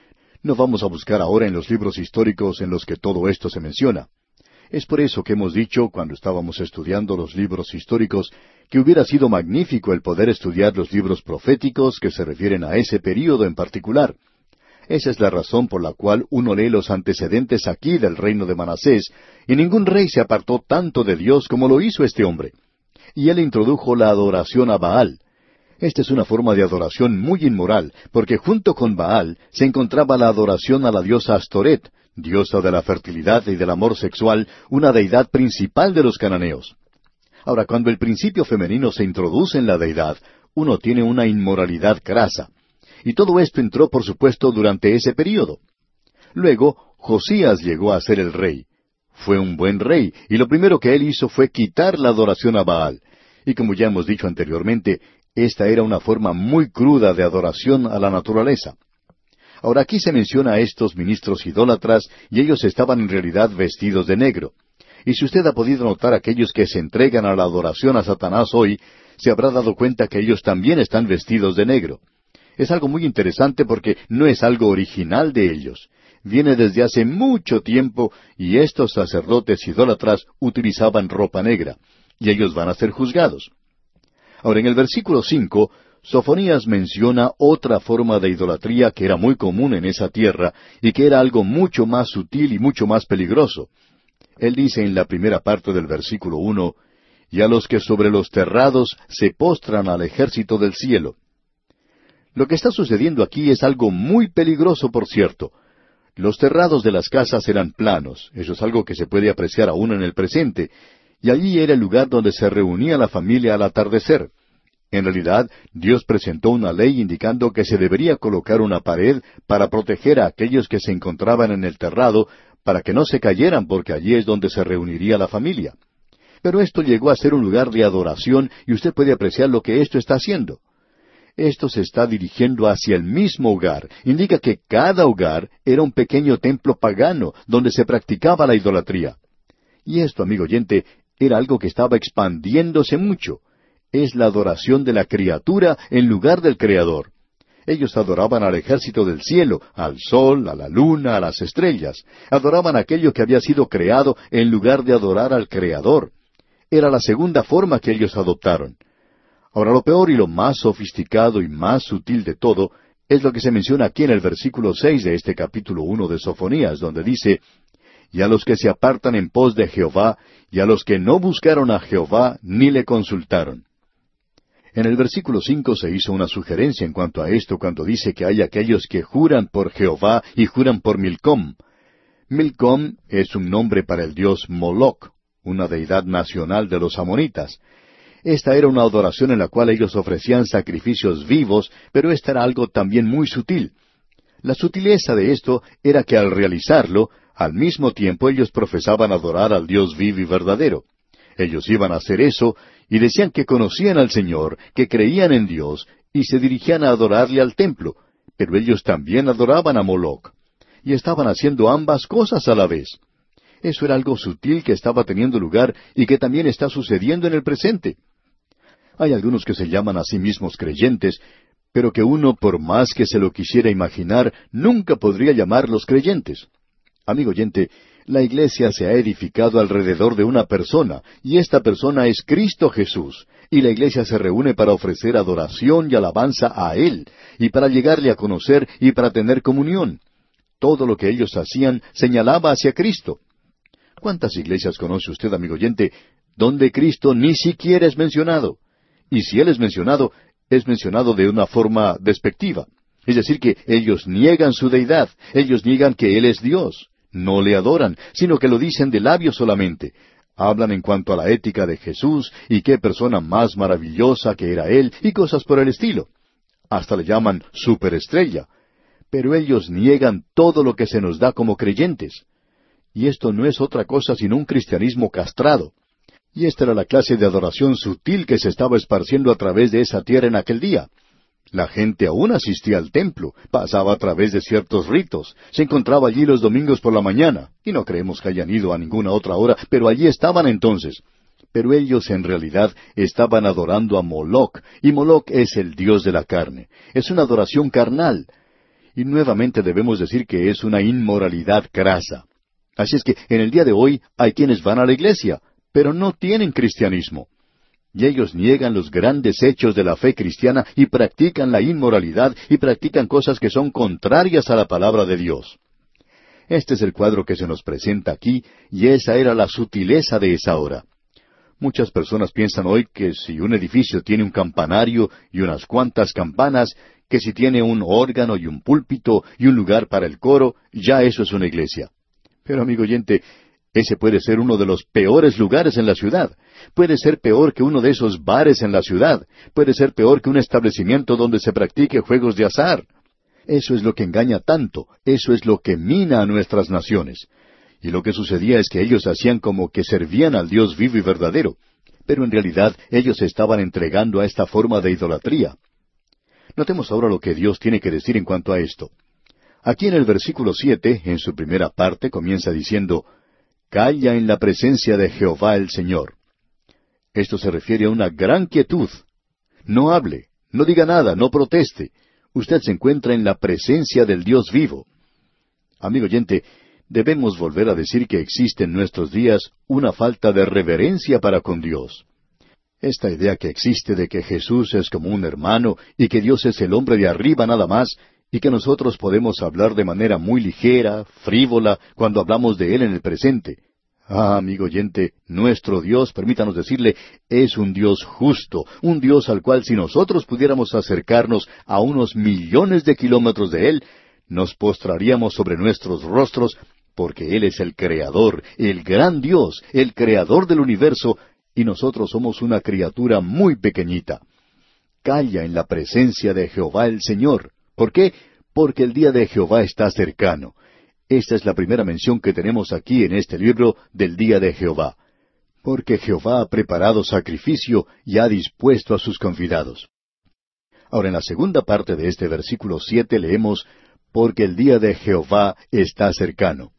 No vamos a buscar ahora en los libros históricos en los que todo esto se menciona. Es por eso que hemos dicho, cuando estábamos estudiando los libros históricos, que hubiera sido magnífico el poder estudiar los libros proféticos que se refieren a ese período en particular. Esa es la razón por la cual uno lee los antecedentes aquí del reino de Manasés, y ningún rey se apartó tanto de Dios como lo hizo este hombre. Y él introdujo la adoración a Baal. Esta es una forma de adoración muy inmoral, porque junto con Baal se encontraba la adoración a la diosa Astoret, diosa de la fertilidad y del amor sexual, una deidad principal de los cananeos. Ahora, cuando el principio femenino se introduce en la deidad, uno tiene una inmoralidad crasa. Y todo esto entró, por supuesto, durante ese período. Luego, Josías llegó a ser el rey. Fue un buen rey, y lo primero que él hizo fue quitar la adoración a Baal. Y como ya hemos dicho anteriormente, esta era una forma muy cruda de adoración a la naturaleza. Ahora aquí se menciona a estos ministros idólatras, y ellos estaban en realidad vestidos de negro. Y si usted ha podido notar aquellos que se entregan a la adoración a Satanás hoy, se habrá dado cuenta que ellos también están vestidos de negro. Es algo muy interesante porque no es algo original de ellos. Viene desde hace mucho tiempo y estos sacerdotes idólatras utilizaban ropa negra, y ellos van a ser juzgados. Ahora, en el versículo 5, Sofonías menciona otra forma de idolatría que era muy común en esa tierra y que era algo mucho más sutil y mucho más peligroso. Él dice en la primera parte del versículo 1, «Y a los que sobre los terrados se postran al ejército del cielo». Lo que está sucediendo aquí es algo muy peligroso, por cierto. Los terrados de las casas eran planos, eso es algo que se puede apreciar aún en el presente, y allí era el lugar donde se reunía la familia al atardecer. En realidad, Dios presentó una ley indicando que se debería colocar una pared para proteger a aquellos que se encontraban en el terrado, para que no se cayeran, porque allí es donde se reuniría la familia. Pero esto llegó a ser un lugar de adoración, y usted puede apreciar lo que esto está haciendo. Esto se está dirigiendo hacia el mismo hogar. Indica que cada hogar era un pequeño templo pagano donde se practicaba la idolatría. Y esto, amigo oyente, era algo que estaba expandiéndose mucho. Es la adoración de la criatura en lugar del Creador. Ellos adoraban al ejército del cielo, al sol, a la luna, a las estrellas. Adoraban aquello que había sido creado en lugar de adorar al Creador. Era la segunda forma que ellos adoptaron. Ahora, lo peor y lo más sofisticado y más sutil de todo es lo que se menciona aquí en el versículo 6 de este capítulo 1 de Sofonías, donde dice, «Y a los que se apartan en pos de Jehová, y a los que no buscaron a Jehová, ni le consultaron». En el versículo 5 se hizo una sugerencia en cuanto a esto cuando dice que hay aquellos que juran por Jehová y juran por Milcom. Milcom es un nombre para el dios Moloc, una deidad nacional de los amonitas. Esta era una adoración en la cual ellos ofrecían sacrificios vivos, pero esta era algo también muy sutil. La sutileza de esto era que al realizarlo, al mismo tiempo ellos profesaban adorar al Dios vivo y verdadero. Ellos iban a hacer eso y decían que conocían al Señor, que creían en Dios y se dirigían a adorarle al templo, pero ellos también adoraban a Moloc. Y estaban haciendo ambas cosas a la vez. Eso era algo sutil que estaba teniendo lugar y que también está sucediendo en el presente. Hay algunos que se llaman a sí mismos creyentes, pero que uno, por más que se lo quisiera imaginar, nunca podría llamarlos creyentes. Amigo oyente, la iglesia se ha edificado alrededor de una persona, y esta persona es Cristo Jesús, y la iglesia se reúne para ofrecer adoración y alabanza a Él, y para llegarle a conocer y para tener comunión. Todo lo que ellos hacían señalaba hacia Cristo. ¿Cuántas iglesias conoce usted, amigo oyente, donde Cristo ni siquiera es mencionado? Y si Él es mencionado de una forma despectiva. Es decir, que ellos niegan su deidad, ellos niegan que Él es Dios. No le adoran, sino que lo dicen de labios solamente. Hablan en cuanto a la ética de Jesús y qué persona más maravillosa que era Él y cosas por el estilo. Hasta le llaman superestrella. Pero ellos niegan todo lo que se nos da como creyentes. Y esto no es otra cosa sino un cristianismo castrado. Y esta era la clase de adoración sutil que se estaba esparciendo a través de esa tierra en aquel día. La gente aún asistía al templo, pasaba a través de ciertos ritos, se encontraba allí los domingos por la mañana, y no creemos que hayan ido a ninguna otra hora, pero allí estaban entonces. Pero ellos en realidad estaban adorando a Moloc, y Moloc es el dios de la carne. Es una adoración carnal. Y nuevamente debemos decir que es una inmoralidad grasa. Así es que en el día de hoy hay quienes van a la iglesia, pero no tienen cristianismo. Y ellos niegan los grandes hechos de la fe cristiana y practican la inmoralidad y practican cosas que son contrarias a la palabra de Dios. Este es el cuadro que se nos presenta aquí, y esa era la sutileza de esa hora. Muchas personas piensan hoy que si un edificio tiene un campanario y unas cuantas campanas, que si tiene un órgano y un púlpito y un lugar para el coro, ya eso es una iglesia. Pero amigo oyente, ese puede ser uno de los peores lugares en la ciudad. Puede ser peor que uno de esos bares en la ciudad. Puede ser peor que un establecimiento donde se practique juegos de azar. Eso es lo que engaña tanto. Eso es lo que mina a nuestras naciones. Y lo que sucedía es que ellos hacían como que servían al Dios vivo y verdadero. Pero en realidad ellos se estaban entregando a esta forma de idolatría. Notemos ahora lo que Dios tiene que decir en cuanto a esto. Aquí en el versículo 7, en su primera parte, comienza diciendo, «Calla en la presencia de Jehová el Señor». Esto se refiere a una gran quietud. No hable, no diga nada, no proteste. Usted se encuentra en la presencia del Dios vivo. Amigo oyente, debemos volver a decir que existe en nuestros días una falta de reverencia para con Dios. Esta idea que existe de que Jesús es como un hermano y que Dios es el hombre de arriba nada más, y que nosotros podemos hablar de manera muy ligera, frívola, cuando hablamos de Él en el presente. Ah, amigo oyente, nuestro Dios, permítanos decirle, es un Dios justo, un Dios al cual si nosotros pudiéramos acercarnos a unos millones de kilómetros de Él, nos postraríamos sobre nuestros rostros, porque Él es el Creador, el gran Dios, el Creador del universo, y nosotros somos una criatura muy pequeñita. Calla en la presencia de Jehová el Señor. ¿Por qué? Porque el día de Jehová está cercano. Esta es la primera mención que tenemos aquí en este libro del día de Jehová. Porque Jehová ha preparado sacrificio y ha dispuesto a sus convidados. Ahora en la segunda parte de este versículo 7 leemos, porque el día de Jehová está cercano.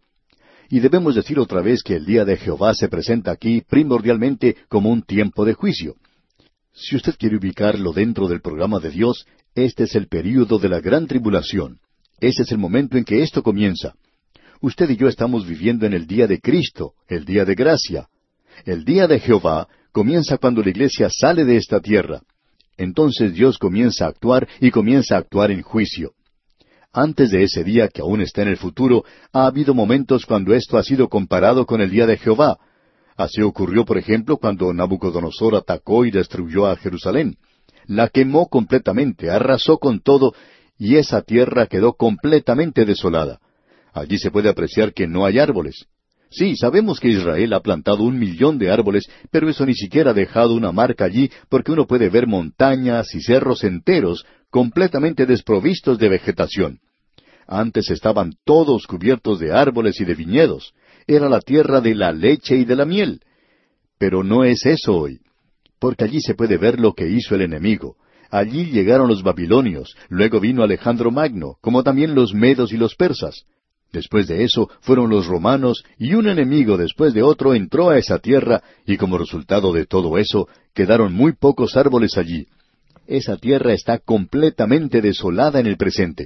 Y debemos decir otra vez que el día de Jehová se presenta aquí primordialmente como un tiempo de juicio. Si usted quiere ubicarlo dentro del programa de Dios, este es el período de la gran tribulación. Ese es el momento en que esto comienza. Usted y yo estamos viviendo en el día de Cristo, el día de gracia. El día de Jehová comienza cuando la iglesia sale de esta tierra. Entonces Dios comienza a actuar y comienza a actuar en juicio. Antes de ese día, que aún está en el futuro, ha habido momentos cuando esto ha sido comparado con el día de Jehová. Así ocurrió, por ejemplo, cuando Nabucodonosor atacó y destruyó a Jerusalén. La quemó completamente, arrasó con todo, y esa tierra quedó completamente desolada. Allí se puede apreciar que no hay árboles. Sí, sabemos que Israel ha plantado 1,000,000 de árboles, pero eso ni siquiera ha dejado una marca allí, porque uno puede ver montañas y cerros enteros completamente desprovistos de vegetación. Antes estaban todos cubiertos de árboles y de viñedos. Era la tierra de la leche y de la miel. Pero no es eso hoy, porque allí se puede ver lo que hizo el enemigo. Allí llegaron los babilonios, luego vino Alejandro Magno, como también los medos y los persas. Después de eso fueron los romanos, y un enemigo después de otro entró a esa tierra, y como resultado de todo eso, quedaron muy pocos árboles allí. Esa tierra está completamente desolada en el presente.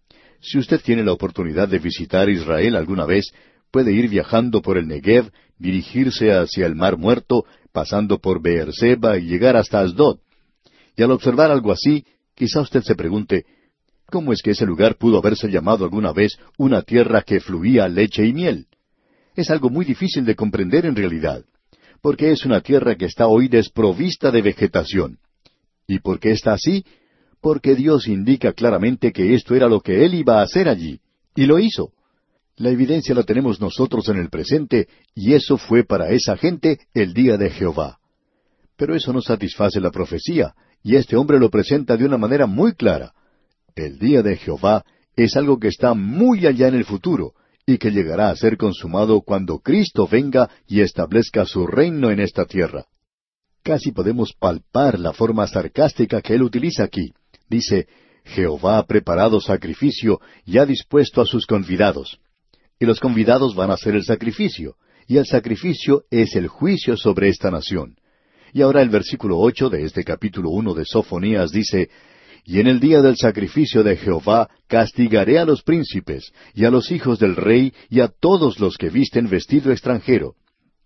Si usted tiene la oportunidad de visitar Israel alguna vez, puede ir viajando por el Negev, dirigirse hacia el Mar Muerto, pasando por Beerseba y llegar hasta Asdod. Y al observar algo así, quizá usted se pregunte, ¿cómo es que ese lugar pudo haberse llamado alguna vez una tierra que fluía leche y miel? Es algo muy difícil de comprender en realidad, porque es una tierra que está hoy desprovista de vegetación. ¿Y por qué está así? Porque Dios indica claramente que esto era lo que Él iba a hacer allí, y lo hizo. La evidencia la tenemos nosotros en el presente, y eso fue para esa gente el día de Jehová. Pero eso no satisface la profecía, y este hombre lo presenta de una manera muy clara. El día de Jehová es algo que está muy allá en el futuro, y que llegará a ser consumado cuando Cristo venga y establezca su reino en esta tierra. Casi podemos palpar la forma sarcástica que él utiliza aquí. Dice, Jehová ha preparado sacrificio y ha dispuesto a sus convidados. Y los convidados van a hacer el sacrificio, y el sacrificio es el juicio sobre esta nación. Y ahora el versículo 8 de este capítulo 1 de Sofonías dice, Y en el día del sacrificio de Jehová castigaré a los príncipes, y a los hijos del rey, y a todos los que visten vestido extranjero.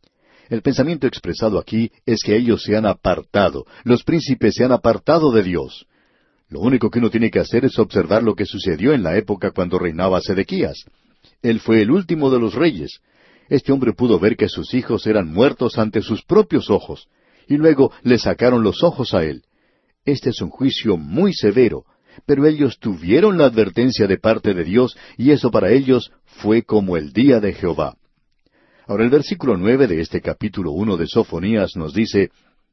El pensamiento expresado aquí es que ellos se han apartado, los príncipes se han apartado de Dios. Lo único que uno tiene que hacer es observar lo que sucedió en la época cuando reinaba Sedequías. Él fue el último de los reyes. Este hombre pudo ver que sus hijos eran muertos ante sus propios ojos, y luego le sacaron los ojos a él. Este es un juicio muy severo, pero ellos tuvieron la advertencia de parte de Dios, y eso para ellos fue como el día de Jehová. Ahora el versículo 9 de este capítulo 1 de Sofonías nos dice,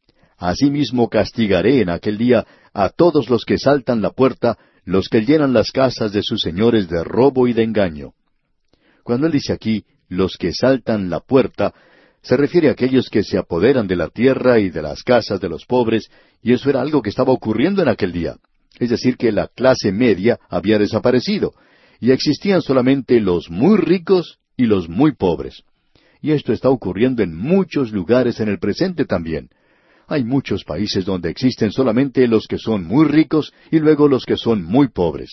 Asimismo castigaré en aquel día a todos los que saltan la puerta, los que llenan las casas de sus señores de robo y de engaño. Cuando él dice aquí, los que saltan la puerta, se refiere a aquellos que se apoderan de la tierra y de las casas de los pobres, y eso era algo que estaba ocurriendo en aquel día. Es decir, que la clase media había desaparecido, y existían solamente los muy ricos y los muy pobres. Y esto está ocurriendo en muchos lugares en el presente también. Hay muchos países donde existen solamente los que son muy ricos y luego los que son muy pobres.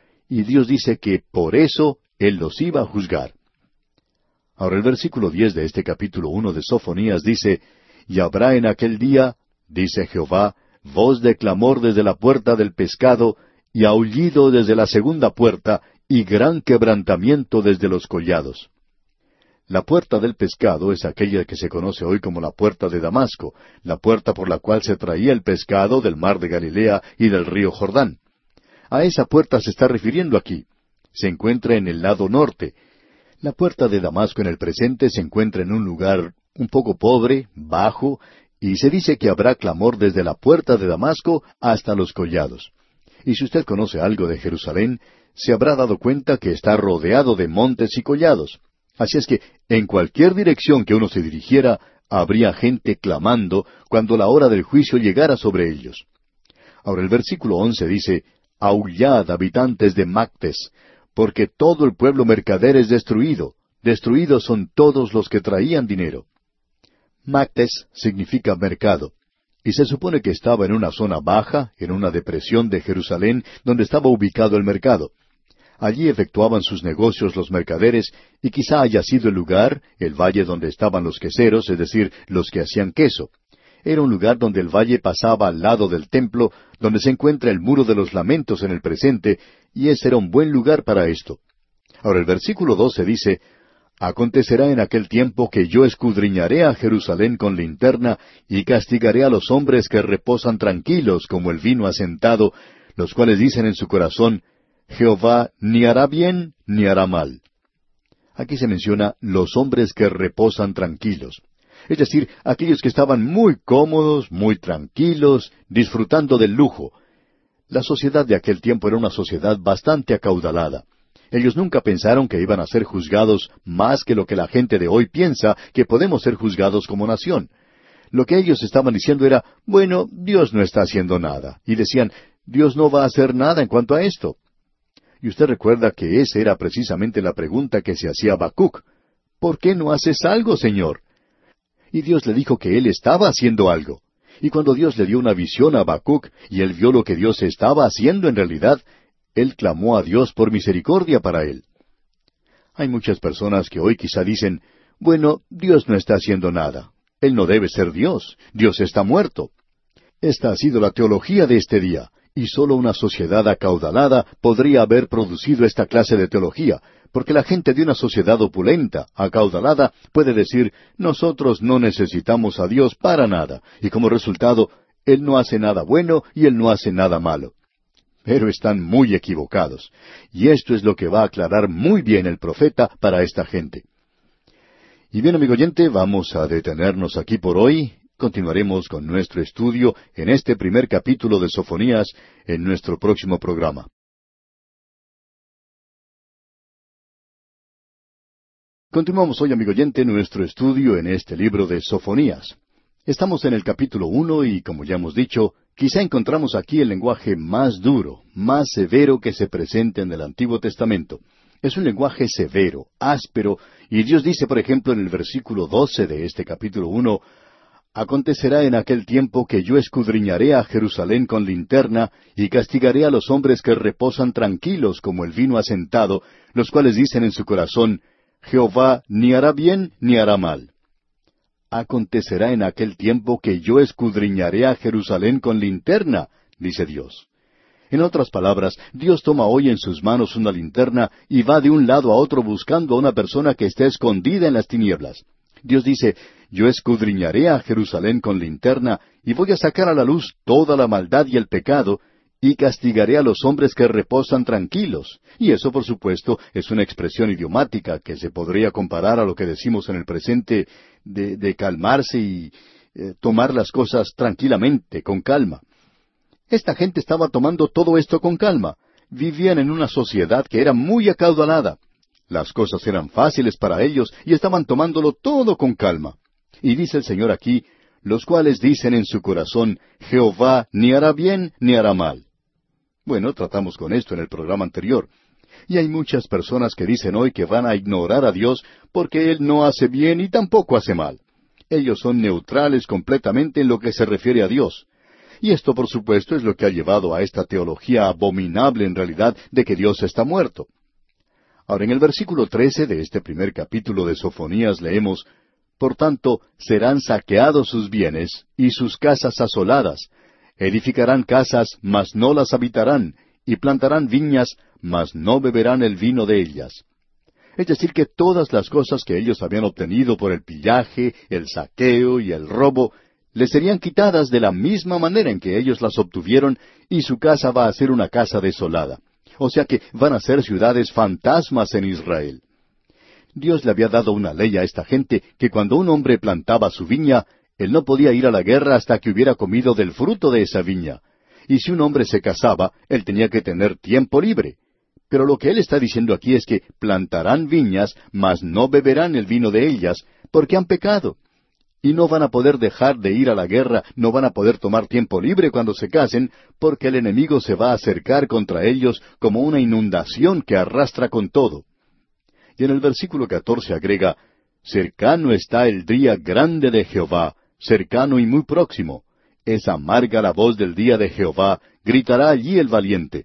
Y Dios dice que por eso Él los iba a juzgar. Ahora el versículo 10 de este capítulo 1 de Sofonías dice, Y habrá en aquel día, dice Jehová, voz de clamor desde la puerta del pescado, y aullido desde la segunda puerta, y gran quebrantamiento desde los collados. La puerta del pescado es aquella que se conoce hoy como la puerta de Damasco, la puerta por la cual se traía el pescado del mar de Galilea y del río Jordán. A esa puerta se está refiriendo aquí. Se encuentra en el lado norte. La puerta de Damasco en el presente se encuentra en un lugar un poco pobre, bajo, y se dice que habrá clamor desde la puerta de Damasco hasta los collados. Y si usted conoce algo de Jerusalén, se habrá dado cuenta que está rodeado de montes y collados. Así es que en cualquier dirección que uno se dirigiera, habría gente clamando cuando la hora del juicio llegara sobre ellos. Ahora el versículo 11 dice, Aullad, habitantes de Mactes, porque todo el pueblo mercader es destruido. Destruidos son todos los que traían dinero. Mactes significa mercado, y se supone que estaba en una zona baja, en una depresión de Jerusalén, donde estaba ubicado el mercado. Allí efectuaban sus negocios los mercaderes, y quizá haya sido el lugar, el valle donde estaban los queseros, es decir, los que hacían queso. Era un lugar donde el valle pasaba al lado del templo, donde se encuentra el muro de los lamentos en el presente, y ese era un buen lugar para esto. Ahora el versículo 12 dice, Acontecerá en aquel tiempo que yo escudriñaré a Jerusalén con linterna, y castigaré a los hombres que reposan tranquilos como el vino asentado, los cuales dicen en su corazón, Jehová ni hará bien ni hará mal. Aquí se menciona los hombres que reposan tranquilos. Es decir, aquellos que estaban muy cómodos, muy tranquilos, disfrutando del lujo. La sociedad de aquel tiempo era una sociedad bastante acaudalada. Ellos nunca pensaron que iban a ser juzgados más que lo que la gente de hoy piensa que podemos ser juzgados como nación. Lo que ellos estaban diciendo era, bueno, Dios no está haciendo nada. Y decían, Dios no va a hacer nada en cuanto a esto. Y usted recuerda que esa era precisamente la pregunta que se hacía Habacuc. ¿Por qué no haces algo, Señor? Y Dios le dijo que Él estaba haciendo algo. Y cuando Dios le dio una visión a Habacuc, y él vio lo que Dios estaba haciendo en realidad, él clamó a Dios por misericordia para él. Hay muchas personas que hoy quizá dicen, bueno, Dios no está haciendo nada. Él no debe ser Dios. Dios está muerto. Esta ha sido la teología de este día. Y sólo una sociedad acaudalada podría haber producido esta clase de teología, porque la gente de una sociedad opulenta, acaudalada, puede decir, nosotros no necesitamos a Dios para nada, y como resultado, Él no hace nada bueno y Él no hace nada malo. Pero están muy equivocados. Y esto es lo que va a aclarar muy bien el profeta para esta gente. Y bien, amigo oyente, vamos a detenernos aquí por hoy. Continuaremos con nuestro estudio en este primer capítulo de Sofonías en nuestro próximo programa. Continuamos hoy, amigo oyente, nuestro estudio en este libro de Sofonías. Estamos en el capítulo 1 y, como ya hemos dicho, quizá encontramos aquí el lenguaje más duro, más severo que se presenta en el Antiguo Testamento. Es un lenguaje severo, áspero, y Dios dice, por ejemplo, en el versículo 12 de este capítulo 1, «Acontecerá en aquel tiempo que yo escudriñaré a Jerusalén con linterna, y castigaré a los hombres que reposan tranquilos como el vino asentado, los cuales dicen en su corazón, Jehová ni hará bien ni hará mal. Acontecerá en aquel tiempo que yo escudriñaré a Jerusalén con linterna, dice Dios». En otras palabras, Dios toma hoy en sus manos una linterna y va de un lado a otro buscando a una persona que esté escondida en las tinieblas. Dios dice, yo escudriñaré a Jerusalén con linterna y voy a sacar a la luz toda la maldad y el pecado, y castigaré a los hombres que reposan tranquilos. Y eso, por supuesto, es una expresión idiomática que se podría comparar a lo que decimos en el presente de calmarse y tomar las cosas tranquilamente, con calma. Esta gente estaba tomando todo esto con calma. Vivían en una sociedad que era muy acaudalada. Las cosas eran fáciles para ellos y estaban tomándolo todo con calma. Y dice el Señor aquí, los cuales dicen en su corazón, Jehová ni hará bien ni hará mal. Bueno, tratamos con esto en el programa anterior. Y hay muchas personas que dicen hoy que van a ignorar a Dios porque Él no hace bien y tampoco hace mal. Ellos son neutrales completamente en lo que se refiere a Dios. Y esto, por supuesto, es lo que ha llevado a esta teología abominable en realidad de que Dios está muerto. Ahora, en el versículo 13 de este primer capítulo de Sofonías leemos, «Por tanto, serán saqueados sus bienes y sus casas asoladas. Edificarán casas, mas no las habitarán, y plantarán viñas, mas no beberán el vino de ellas». Es decir, que todas las cosas que ellos habían obtenido por el pillaje, el saqueo y el robo, les serían quitadas de la misma manera en que ellos las obtuvieron, y su casa va a ser una casa desolada. O sea que van a ser ciudades fantasmas en Israel. Dios le había dado una ley a esta gente que cuando un hombre plantaba su viña, él no podía ir a la guerra hasta que hubiera comido del fruto de esa viña. Y si un hombre se casaba, él tenía que tener tiempo libre. Pero lo que él está diciendo aquí es que plantarán viñas, mas no beberán el vino de ellas, porque han pecado. Y no van a poder dejar de ir a la guerra, no van a poder tomar tiempo libre cuando se casen, porque el enemigo se va a acercar contra ellos como una inundación que arrastra con todo. Y en el versículo 14 agrega, «Cercano está el día grande de Jehová, cercano y muy próximo. Es amarga la voz del día de Jehová, gritará allí el valiente».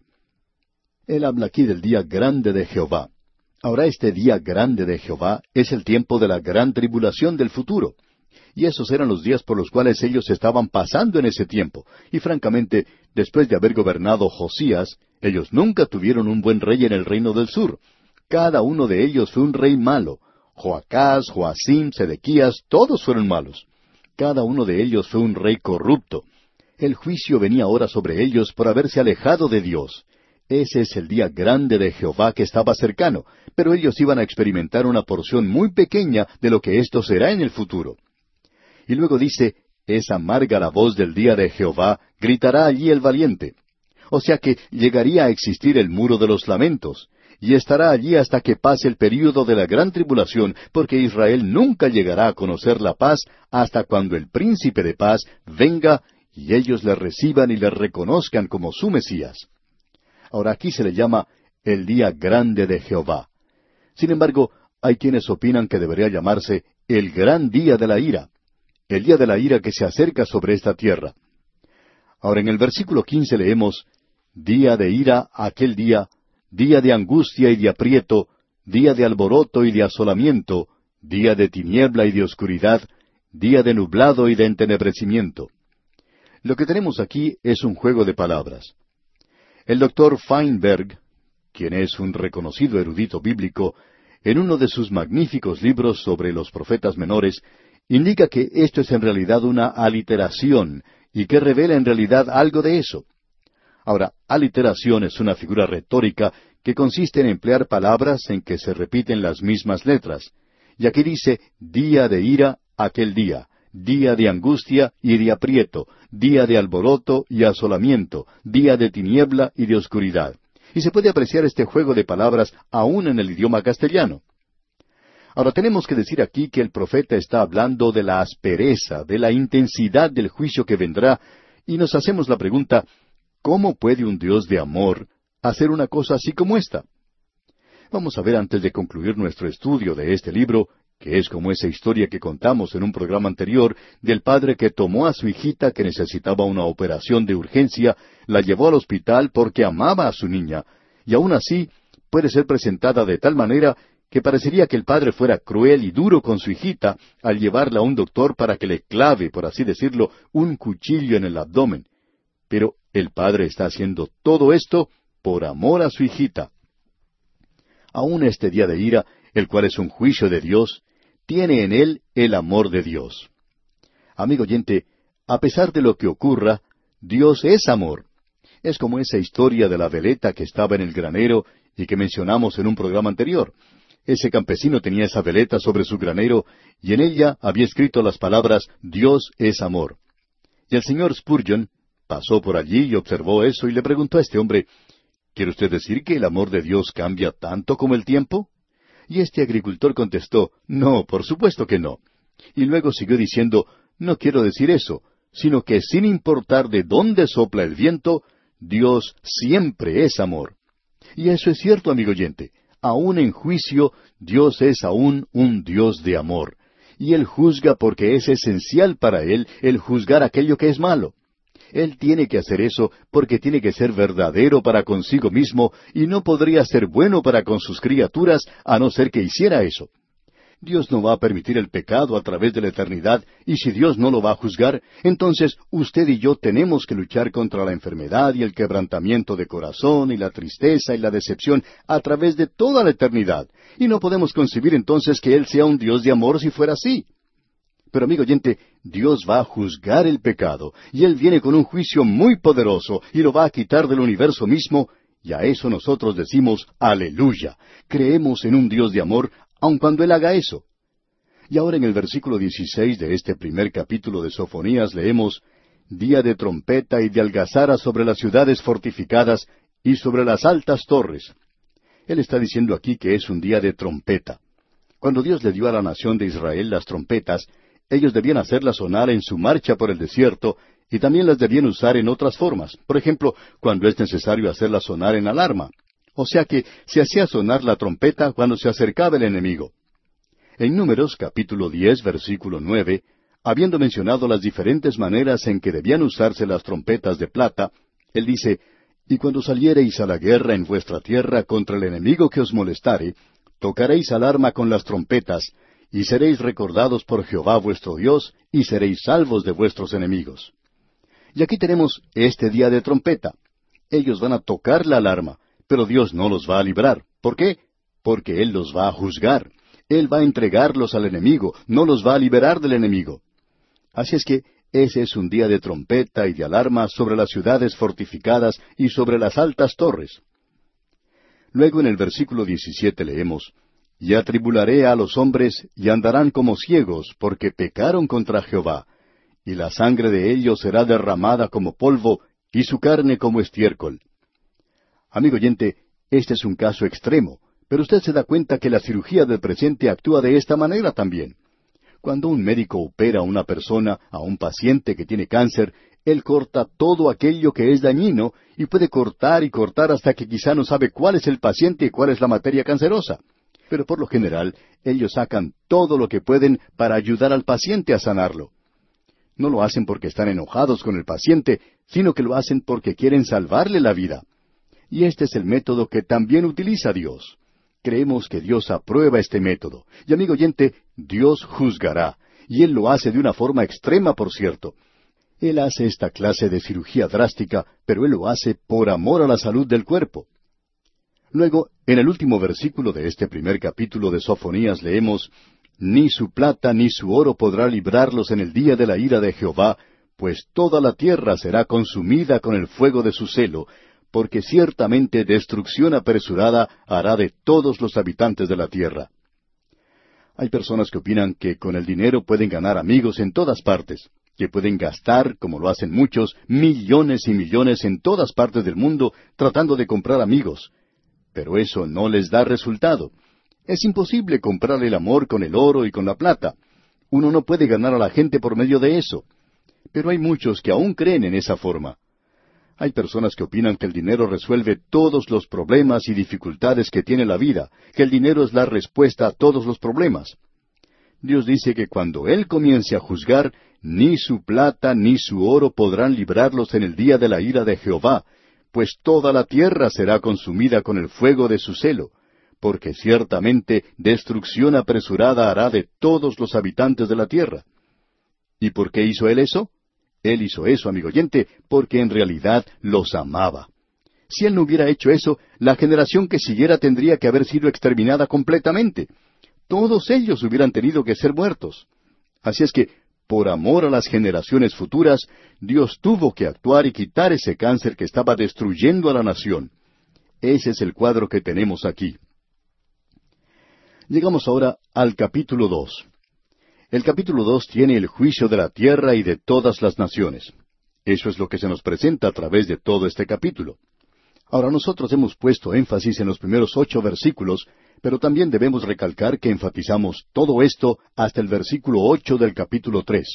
Él habla aquí del día grande de Jehová. Ahora, este día grande de Jehová es el tiempo de la gran tribulación del futuro. Y esos eran los días por los cuales ellos estaban pasando en ese tiempo. Y francamente, después de haber gobernado Josías, ellos nunca tuvieron un buen rey en el reino del sur. Cada uno de ellos fue un rey malo. Joacás, Joacim, Sedequías, todos fueron malos. Cada uno de ellos fue un rey corrupto. El juicio venía ahora sobre ellos por haberse alejado de Dios. Ese es el día grande de Jehová que estaba cercano, pero ellos iban a experimentar una porción muy pequeña de lo que esto será en el futuro. Y luego dice, «Es amarga la voz del día de Jehová, gritará allí el valiente». O sea que llegaría a existir el muro de los lamentos, y estará allí hasta que pase el período de la gran tribulación, porque Israel nunca llegará a conocer la paz hasta cuando el príncipe de paz venga y ellos le reciban y le reconozcan como su Mesías. Ahora aquí se le llama el día grande de Jehová. Sin embargo, hay quienes opinan que debería llamarse el gran día de la ira. El día de la ira que se acerca sobre esta tierra. Ahora en el versículo 15 leemos, «Día de ira aquel día, día de angustia y de aprieto, día de alboroto y de asolamiento, día de tiniebla y de oscuridad, día de nublado y de entenebrecimiento». Lo que tenemos aquí es un juego de palabras. El doctor Feinberg, quien es un reconocido erudito bíblico, en uno de sus magníficos libros sobre los profetas menores, indica que esto es en realidad una aliteración y que revela en realidad algo de eso. Ahora, aliteración es una figura retórica que consiste en emplear palabras en que se repiten las mismas letras. Y aquí dice, día de ira, aquel día de angustia y de aprieto, día de alboroto y asolamiento, día de tiniebla y de oscuridad. Y se puede apreciar este juego de palabras aún en el idioma castellano. Ahora tenemos que decir aquí que el profeta está hablando de la aspereza, de la intensidad del juicio que vendrá, y nos hacemos la pregunta, ¿cómo puede un Dios de amor hacer una cosa así como esta? Vamos a ver antes de concluir nuestro estudio de este libro, que es como esa historia que contamos en un programa anterior del padre que tomó a su hijita que necesitaba una operación de urgencia, la llevó al hospital porque amaba a su niña, y aún así puede ser presentada de tal manera que parecería que el padre fuera cruel y duro con su hijita al llevarla a un doctor para que le clave, por así decirlo, un cuchillo en el abdomen. Pero el padre está haciendo todo esto por amor a su hijita. Aún este día de ira, el cual es un juicio de Dios, tiene en él el amor de Dios. Amigo oyente, a pesar de lo que ocurra, Dios es amor. Es como esa historia de la veleta que estaba en el granero y que mencionamos en un programa anterior. Ese campesino tenía esa veleta sobre su granero y en ella había escrito las palabras Dios es amor. Y el señor Spurgeon pasó por allí y observó eso y le preguntó a este hombre, ¿quiere usted decir que el amor de Dios cambia tanto como el tiempo? Y este agricultor contestó, no, por supuesto que no. Y luego siguió diciendo, no quiero decir eso, sino que sin importar de dónde sopla el viento, Dios siempre es amor. Y eso es cierto, amigo oyente. Aún en juicio, Dios es aún un Dios de amor. Y Él juzga porque es esencial para Él el juzgar aquello que es malo. Él tiene que hacer eso porque tiene que ser verdadero para consigo mismo y no podría ser bueno para con sus criaturas a no ser que hiciera eso. Dios no va a permitir el pecado a través de la eternidad, y si Dios no lo va a juzgar, entonces usted y yo tenemos que luchar contra la enfermedad y el quebrantamiento de corazón y la tristeza y la decepción a través de toda la eternidad, y no podemos concebir entonces que Él sea un Dios de amor si fuera así. Pero amigo oyente, Dios va a juzgar el pecado, y Él viene con un juicio muy poderoso, y lo va a quitar del universo mismo, y a eso nosotros decimos, aleluya, creemos en un Dios de amor, aun cuando Él haga eso. Y ahora en el versículo 16 de este primer capítulo de Sofonías leemos, día de trompeta y de algazara sobre las ciudades fortificadas y sobre las altas torres. Él está diciendo aquí que es un día de trompeta. Cuando Dios le dio a la nación de Israel las trompetas, ellos debían hacerlas sonar en su marcha por el desierto, y también las debían usar en otras formas. Por ejemplo, cuando es necesario hacerlas sonar en alarma. O sea que se hacía sonar la trompeta cuando se acercaba el enemigo. En Números capítulo 10, versículo 9, habiendo mencionado las diferentes maneras en que debían usarse las trompetas de plata, él dice, y cuando saliereis a la guerra en vuestra tierra contra el enemigo que os molestare, tocaréis alarma con las trompetas, y seréis recordados por Jehová vuestro Dios, y seréis salvos de vuestros enemigos. Y aquí tenemos este día de trompeta. Ellos van a tocar la alarma, pero Dios no los va a librar. ¿Por qué? Porque Él los va a juzgar. Él va a entregarlos al enemigo, no los va a liberar del enemigo. Así es que ese es un día de trompeta y de alarma sobre las ciudades fortificadas y sobre las altas torres. Luego en el versículo 17 leemos, y atribularé a los hombres, y andarán como ciegos, porque pecaron contra Jehová, y la sangre de ellos será derramada como polvo, y su carne como estiércol. Amigo oyente, este es un caso extremo, pero usted se da cuenta que la cirugía del presente actúa de esta manera también. Cuando un médico opera a una persona, a un paciente que tiene cáncer, él corta todo aquello que es dañino, y puede cortar y cortar hasta que quizá no sabe cuál es el paciente y cuál es la materia cancerosa. Pero por lo general, ellos sacan todo lo que pueden para ayudar al paciente a sanarlo. No lo hacen porque están enojados con el paciente, sino que lo hacen porque quieren salvarle la vida. Y este es el método que también utiliza Dios. Creemos que Dios aprueba este método. Y amigo oyente, Dios juzgará. Y Él lo hace de una forma extrema, por cierto. Él hace esta clase de cirugía drástica, pero Él lo hace por amor a la salud del cuerpo. Luego, en el último versículo de este primer capítulo de Sofonías leemos, ni su plata ni su oro podrá librarlos en el día de la ira de Jehová, pues toda la tierra será consumida con el fuego de su celo, porque ciertamente destrucción apresurada hará de todos los habitantes de la tierra. Hay personas que opinan que con el dinero pueden ganar amigos en todas partes, que pueden gastar, como lo hacen muchos, millones y millones en todas partes del mundo tratando de comprar amigos. Pero eso no les da resultado. Es imposible comprar el amor con el oro y con la plata. Uno no puede ganar a la gente por medio de eso. Pero hay muchos que aún creen en esa forma. Hay personas que opinan que el dinero resuelve todos los problemas y dificultades que tiene la vida, que el dinero es la respuesta a todos los problemas. Dios dice que cuando Él comience a juzgar, ni su plata ni su oro podrán librarlos en el día de la ira de Jehová, pues toda la tierra será consumida con el fuego de su celo, porque ciertamente destrucción apresurada hará de todos los habitantes de la tierra. ¿Y por qué hizo Él eso? Él hizo eso, amigo oyente, porque en realidad los amaba. Si Él no hubiera hecho eso, la generación que siguiera tendría que haber sido exterminada completamente. Todos ellos hubieran tenido que ser muertos. Así es que, por amor a las generaciones futuras, Dios tuvo que actuar y quitar ese cáncer que estaba destruyendo a la nación. Ese es el cuadro que tenemos aquí. Llegamos ahora al capítulo 2. El capítulo 2 tiene el juicio de la tierra y de todas las naciones. Eso es lo que se nos presenta a través de todo este capítulo. Ahora nosotros hemos puesto énfasis en los primeros 8 versículos, pero también debemos recalcar que enfatizamos todo esto hasta el versículo 8 del capítulo 3.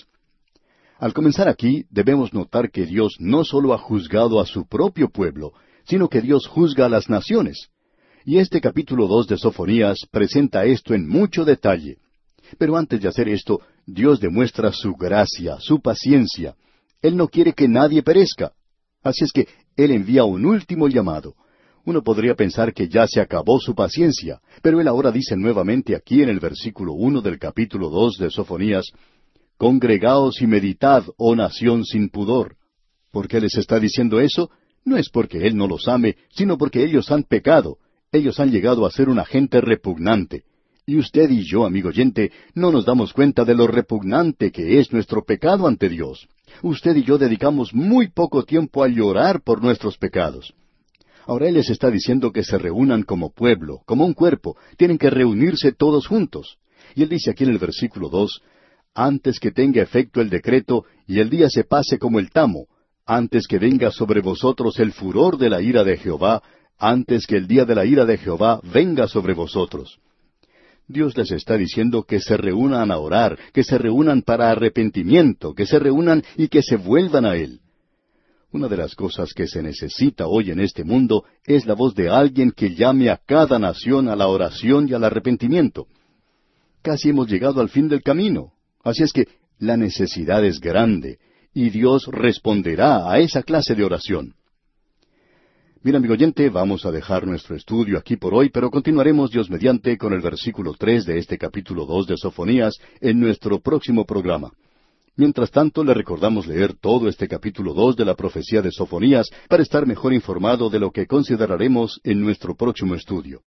Al comenzar aquí, debemos notar que Dios no solo ha juzgado a su propio pueblo, sino que Dios juzga a las naciones. Y este capítulo 2 de Sofonías presenta esto en mucho detalle. Pero antes de hacer esto, Dios demuestra su gracia, su paciencia. Él no quiere que nadie perezca. Así es que Él envía un último llamado. Uno podría pensar que ya se acabó su paciencia, pero Él ahora dice nuevamente aquí en el versículo 1 del capítulo 2 de Sofonías, «Congregaos y meditad, oh nación sin pudor». ¿Por qué les está diciendo eso? No es porque Él no los ame, sino porque ellos han pecado. Ellos han llegado a ser una gente repugnante. Y usted y yo, amigo oyente, no nos damos cuenta de lo repugnante que es nuestro pecado ante Dios. Usted y yo dedicamos muy poco tiempo a llorar por nuestros pecados. Ahora Él les está diciendo que se reúnan como pueblo, como un cuerpo. Tienen que reunirse todos juntos. Y Él dice aquí en el versículo 2, «Antes que tenga efecto el decreto y el día se pase como el tamo, antes que venga sobre vosotros el furor de la ira de Jehová, antes que el día de la ira de Jehová venga sobre vosotros». Dios les está diciendo que se reúnan a orar, que se reúnan para arrepentimiento, que se reúnan y que se vuelvan a Él. Una de las cosas que se necesita hoy en este mundo es la voz de alguien que llame a cada nación a la oración y al arrepentimiento. Casi hemos llegado al fin del camino, así es que la necesidad es grande, y Dios responderá a esa clase de oración. Bien, amigo oyente, vamos a dejar nuestro estudio aquí por hoy, pero continuaremos, Dios mediante, con el versículo 3 de este capítulo 2 de Sofonías en nuestro próximo programa. Mientras tanto, le recordamos leer todo este capítulo 2 de la profecía de Sofonías para estar mejor informado de lo que consideraremos en nuestro próximo estudio.